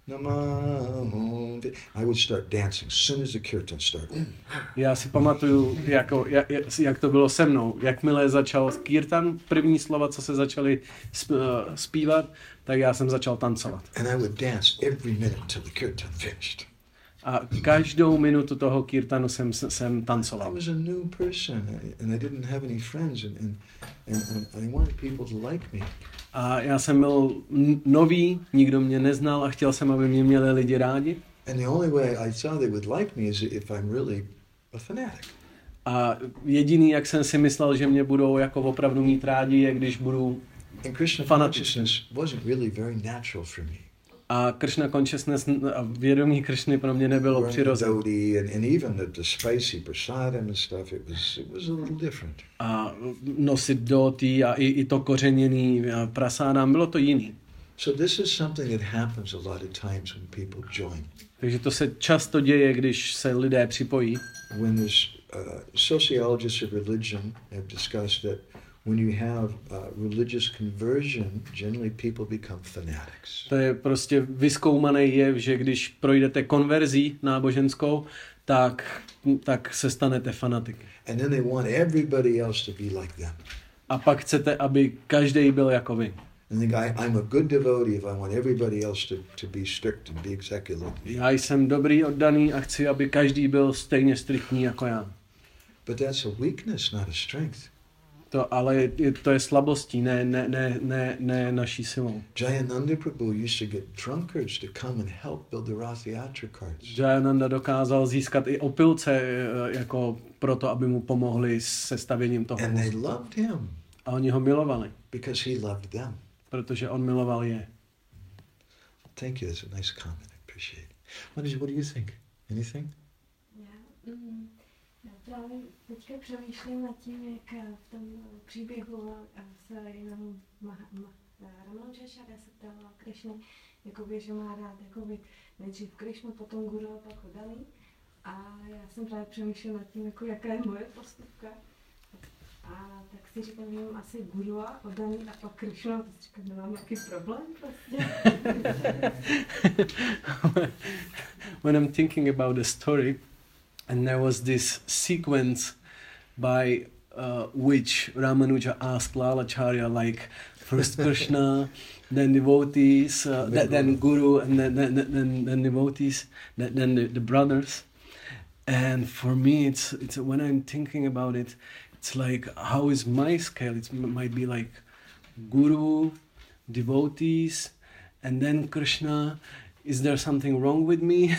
Namo, I would start dancing as soon as the kirtan started. Já si pamatuju, jak to bylo se mnou. Jakmile začal kirtan, první slova, co se začaly zpívat, tak já jsem začal tancovat. And I would dance every minute until the kirtan finished. A každou minutu toho kirtanu jsem I tancoval. was a new person and I didn't have any friends and I wanted people to like me. A já jsem byl nový, nikdo mě neznal a chtěl jsem, aby mě měli lidi rádi. And the only way I thought they would like me is if I'm really a fanatic. A jediný, jak jsem si myslel, že mě budou jako opravdu mít rádi, je když budu And Krishna fanatic. consciousness wasn't really very natural for me. A Krishna consciousness a vědomí Krishny pro mě nebylo Wearing the přirozené. dhoti and even the spicy prasadam and stuff, it was a little different. A nosit doti a i to kořeněný prasádám, bylo to jiný. So this is something that happens a lot of times when people join. Takže to se často děje, když se lidé připojí. When there's sociologists of religion have discussed that when you have religious conversion, generally people become fanatics. To je prostě vyzkoumaný jev, že když projdete konverzí náboženskou, tak se stanete fanatiky. And then they want everybody else to be like them. A pak chcete, aby každý byl jako vy. And think I'm a good devotee if I want everybody else to be strict and be exactly like me. Já jsem dobrý, oddaný a chci, aby každý byl stejně striktní jako já. But that's a weakness, not a strength. Ale to je slabostí, ne naší silou. Jayananda Prabhu used to get drunkards to come and help build the Rath Yatra carts. Jayananda dokázal získat i opilce jako proto, aby mu pomohli se stavěním toho And they vozu. loved him A oni ho milovali, because he loved them. protože on miloval je. Thank you. That's a nice comment. I appreciate it. What do you think? Anything? Já právě teďka přemýšlím nad tím, jak v tom příběhu se jenom Ramanujačarya se ptala Krišny, jakoby, že má rád jakoby, nejdřív Krišnu, potom Guru a pak Oddaný. A já jsem právě přemýšlela nad tím, jako, jaká je moje postupka. A tak si říkám, že mám asi Guru a Oddaný a pak Krišnu, a to si říkám, že mám nějaký problém prostě. When I'm thinking about the story, and there was this sequence by which Ramanuja asked Lalacharya, like first Krishna, then devotees, then Guru, and then devotees, then the brothers. And for me, it's when I'm thinking about it, it's like, how is my scale? It might be like Guru, devotees, and then Krishna. Is there something wrong with me?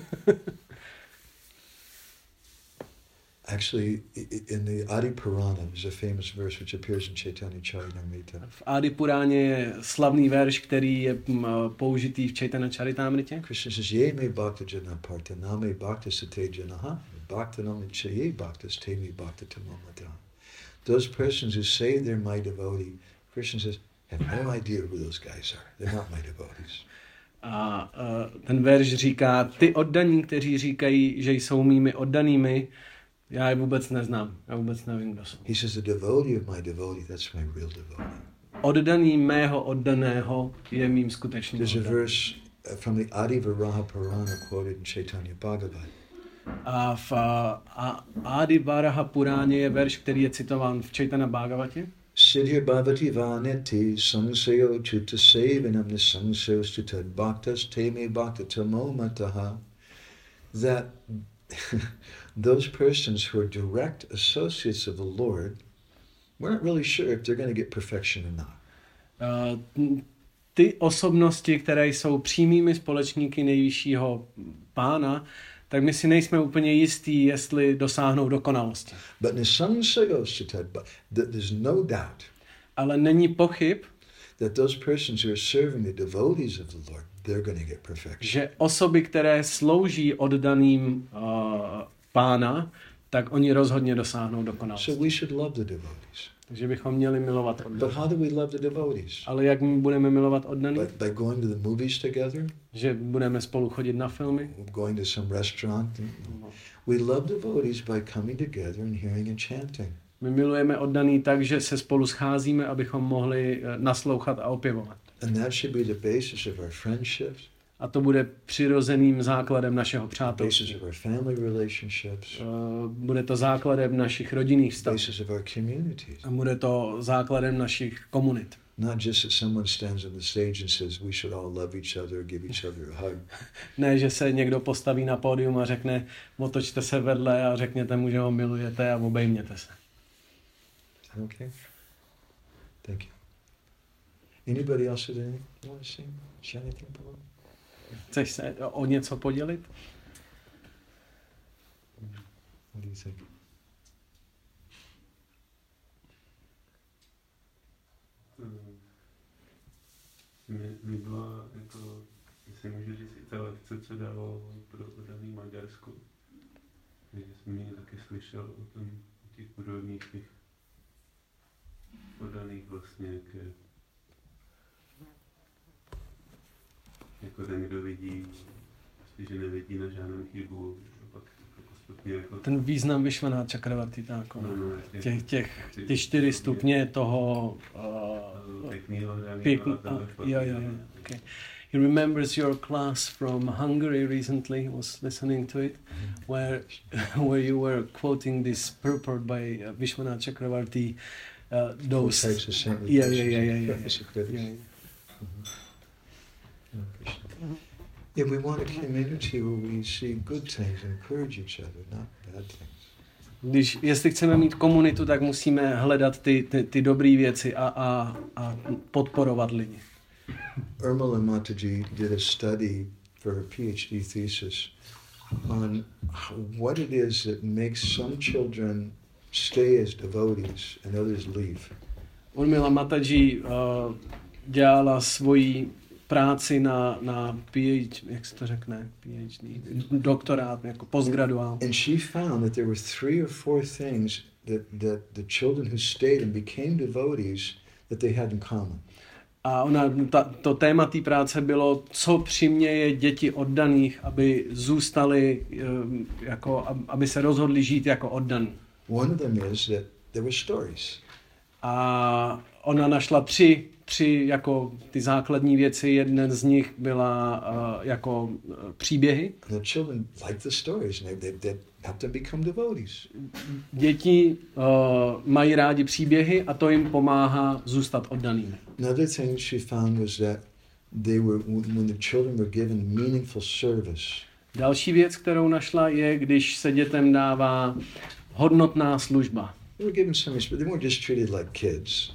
Actually, in the Adi Purana, there's a famous verse which appears in Chaitanya Charitamrita. V Adi Puráně je slavný verš, který je použitý v Chaitanya Charitamritě. Krishna says, Ye me bhakta jana partha, name bhakta sate janaha, bhakta nami chaye bhakta stemi bhakta tamamata. Those persons who say they're my devotee, Krishna says, have no idea who those guys are. They're not my devotees. A ten verš říká, ty oddaní, kteří říkají, že jsou mými oddanými, já je vůbec neznám, já vůbec nevím, kdo jsou. He says, the devotee of my devotee, that's my real devotee. Oddaný mého oddaného je mým skutečným There's a oddaným. verse from the Adi Varaha Purana quoted in Chaitanya Bhagavat. A v Adi Varaha Puráně je verš, který je citován v Chaitanya Bhagavatě. Siddhir bhavati vaneti samsayo chuta sevanam nisamsayo stutad bhaktas teme bhakta tamo mataha. That those persons who are direct associates of the Lord, we're not really sure if they're going to get perfection or not. Ty osobnosti, které jsou přímými společníky nejvyššího pána, tak my si nejsme úplně jistí, jestli dosáhnou dokonalosti. But nisamsayo stutad, there's no doubt Ale není pochyb, that those persons who are serving the devotees of the Lord, they're going to get perfection. že osoby, které slouží oddaným pána, tak oni rozhodně dosáhnou dokonalosti. So we should love the devotees. Takže bychom měli milovat But oddané. how do we love the devotees? Ale jak my budeme milovat oddaný? By going to the movies together? Že budeme spolu chodit na filmy? Going to some restaurant? We love devotees by coming together and hearing and chanting. My milujeme oddaný tak, že se spolu scházíme, abychom mohli naslouchat a opěvovat. And that should be the basis of our friendships, A to bude přirozeným základem našeho basis přátelství. of our family relationships, Bude to základem našich rodinných vztahů. basis of our communities. A bude to základem našich komunit. Not just that someone stands on the stage and says we should all love each other, give each other a hug. Ne, že se někdo postaví na pódium a řekne, otočte se vedle a řekněte mu, že ho milujete a obejměte se. Okay? Thank you. Anybody else have anything you want to say? Share anything below? Chceš se o něco podělit? What do you think? Mi byla, jako, jestli můžu říct, i ta lekce, co dával pro oddaný Maďarsku. Takže jsem mě taky slyšel o těch podobných těch oddaných vlastně, jako ten, kdo vidí, prostě, že nevidí na žádnou chybu, a pak jako postupně jako... Ten význam Vishwanath Chakravarti, tak, No, ty 4 stupně toho okay. He remembers your class from Hungary recently. He was listening to it, where you were quoting this purport by Vishwanath Chakravarti. Those Types of saintly yeah. Yeah, we want a community where we see good things and encourage each other, not bad things. Jestli chceme mít komunitu, tak musíme hledat ty dobré věci a podporovat lidi. Urmila Mataji did a study for her PhD thesis on what it is that makes some children stay as devotees and others leave. Urmila Mataji dělala svoji práci na PhD, jak se to řekne, PhD, doktorát, jako postgraduál. And she found that there were 3 or 4 things that the children who stayed and became devotees that they had in common. A to téma té práce bylo, co přiměje děti oddaných, aby zůstali, jako, aby se rozhodli žít jako oddaní. One of them is that there were stories. A ona našla tři jako ty základní věci. Jedna z nich byla jako příběhy. And the children liked the stories and they helped them become devotees. Děti mají rádi příběhy a to jim pomáhá zůstat oddanými. Another thing she found was that when the children were given meaningful service. Další věc, kterou našla, je, když se dětem dává hodnotná služba. They were given some respect. They weren't just treated like kids.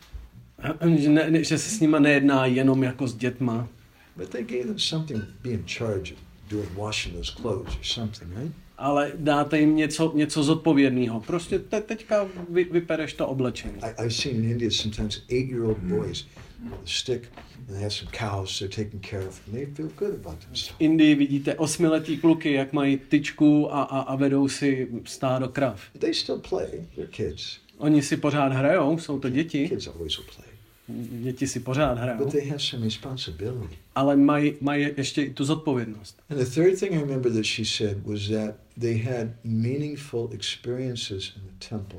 Že se s nima nejedná jenom jako s dětma. But they gave them something to be in charge of doing washing those clothes or something, right? Ale dáte jim něco zodpovědného. Prostě teďka vypereš to oblečení. I've seen in India sometimes 8-year-old boys with a stick and they have some cows they're taking care of and they feel good about themselves. V Indii vidíte 8letý kluky, jak mají tyčku a vedou si stádo krav. They still play. They're kids. Oni si pořád hrajou, jsou to děti. Kids always will play. děti si pořád hrajou, but they have some responsibility. ale mají ještě i tu zodpovědnost. And the third thing I remember that she said was that they had meaningful experiences in the temple.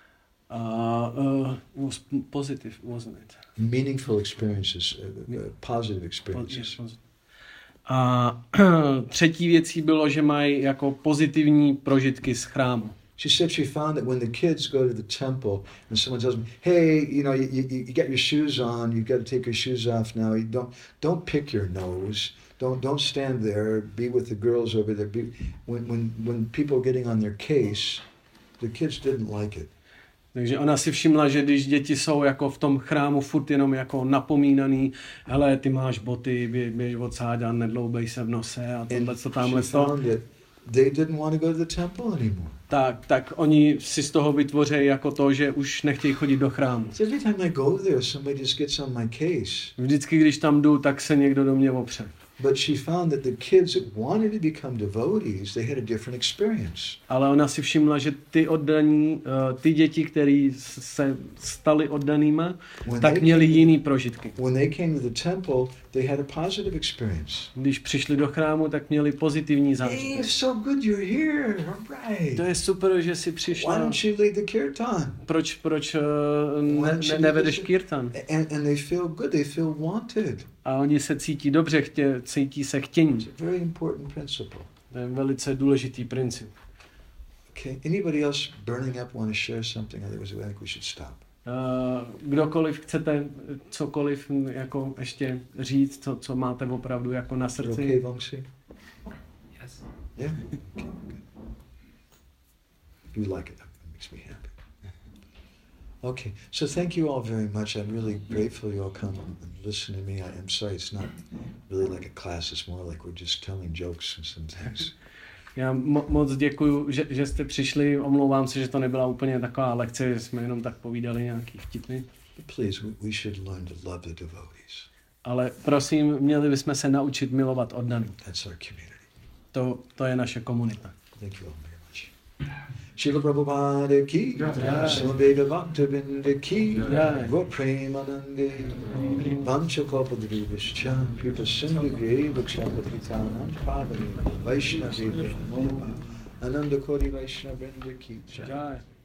It was positive, wasn't it? Meaningful experiences, positive experiences. A třetí věcí bylo, že mají jako pozitivní prožitky z chrámu. She said she found that when the kids go to the temple and someone tells them, "Hey, you know, you get your shoes on. You've got to take your shoes off now. You don't pick your nose. Don't stand there. Be with the girls over there." When people are getting on their case, the kids didn't like it. Takže ona si všimla, že když děti jsou jako v tom chrámu furt jenom jako napomínaný, hele, ty máš boty, běž odsáď a nedloubej se v nose a tohle, co tamhle to. They didn't want to go to the temple anymore. Tak oni si z toho vytvoří jako to, že už nechtějí chodit do chrámu. Every time I go there, somebody just gets on my case. Vždycky, když tam jdu, tak se někdo do mě opře. But she found that the kids that wanted to become devotees, they had a different experience. Ale ona si všimla, že ty děti, které se staly oddanýma, tak měli jiný prožitky. When they came to the temple, they had a positive experience. Když přišli do chrámu, tak měli pozitivní Hey, zážitek. it's so good you're here. All right. To je super, že jsi Why přišla. don't you lead the kirtan? Proč nevedeš kirtan? And they feel good. They feel wanted. A oni se cítí dobře, cítí se chtění. It's a very important principle. To je velice důležitý princip. Okay. Anybody else burning up want to share something? Otherwise, I think we should stop. Kdokoliv chcete cokoliv jako ještě říct, co máte opravdu jako na srdci. Okay, Vangsi? Yes. Yeah. Okay, good. You like it. That makes me happy. Okay, so thank you all very much. I'm really grateful you all come and listen to me. I'm sorry it's not really like a class. It's more like we're just telling jokes and some things. Já moc děkuju, že jste přišli. Omlouvám se, že to nebyla úplně taková lekce, že jsme jenom tak povídali nějaký vtipy. But please, we should learn to love the devotees. Ale prosím, měli bychom se naučit milovat oddaný. That's our community. To je naše komunita. Thank you all very much. Srila Prabhupada ki, Swami Bhaktivinoda ki, Gaur Premanande, Vanchakalpadrivascha, Kripa Sindhu Vakshapatritanam, Padani, Vaishnavi, Ananda Koti Vaishnavrinda ki. Jai.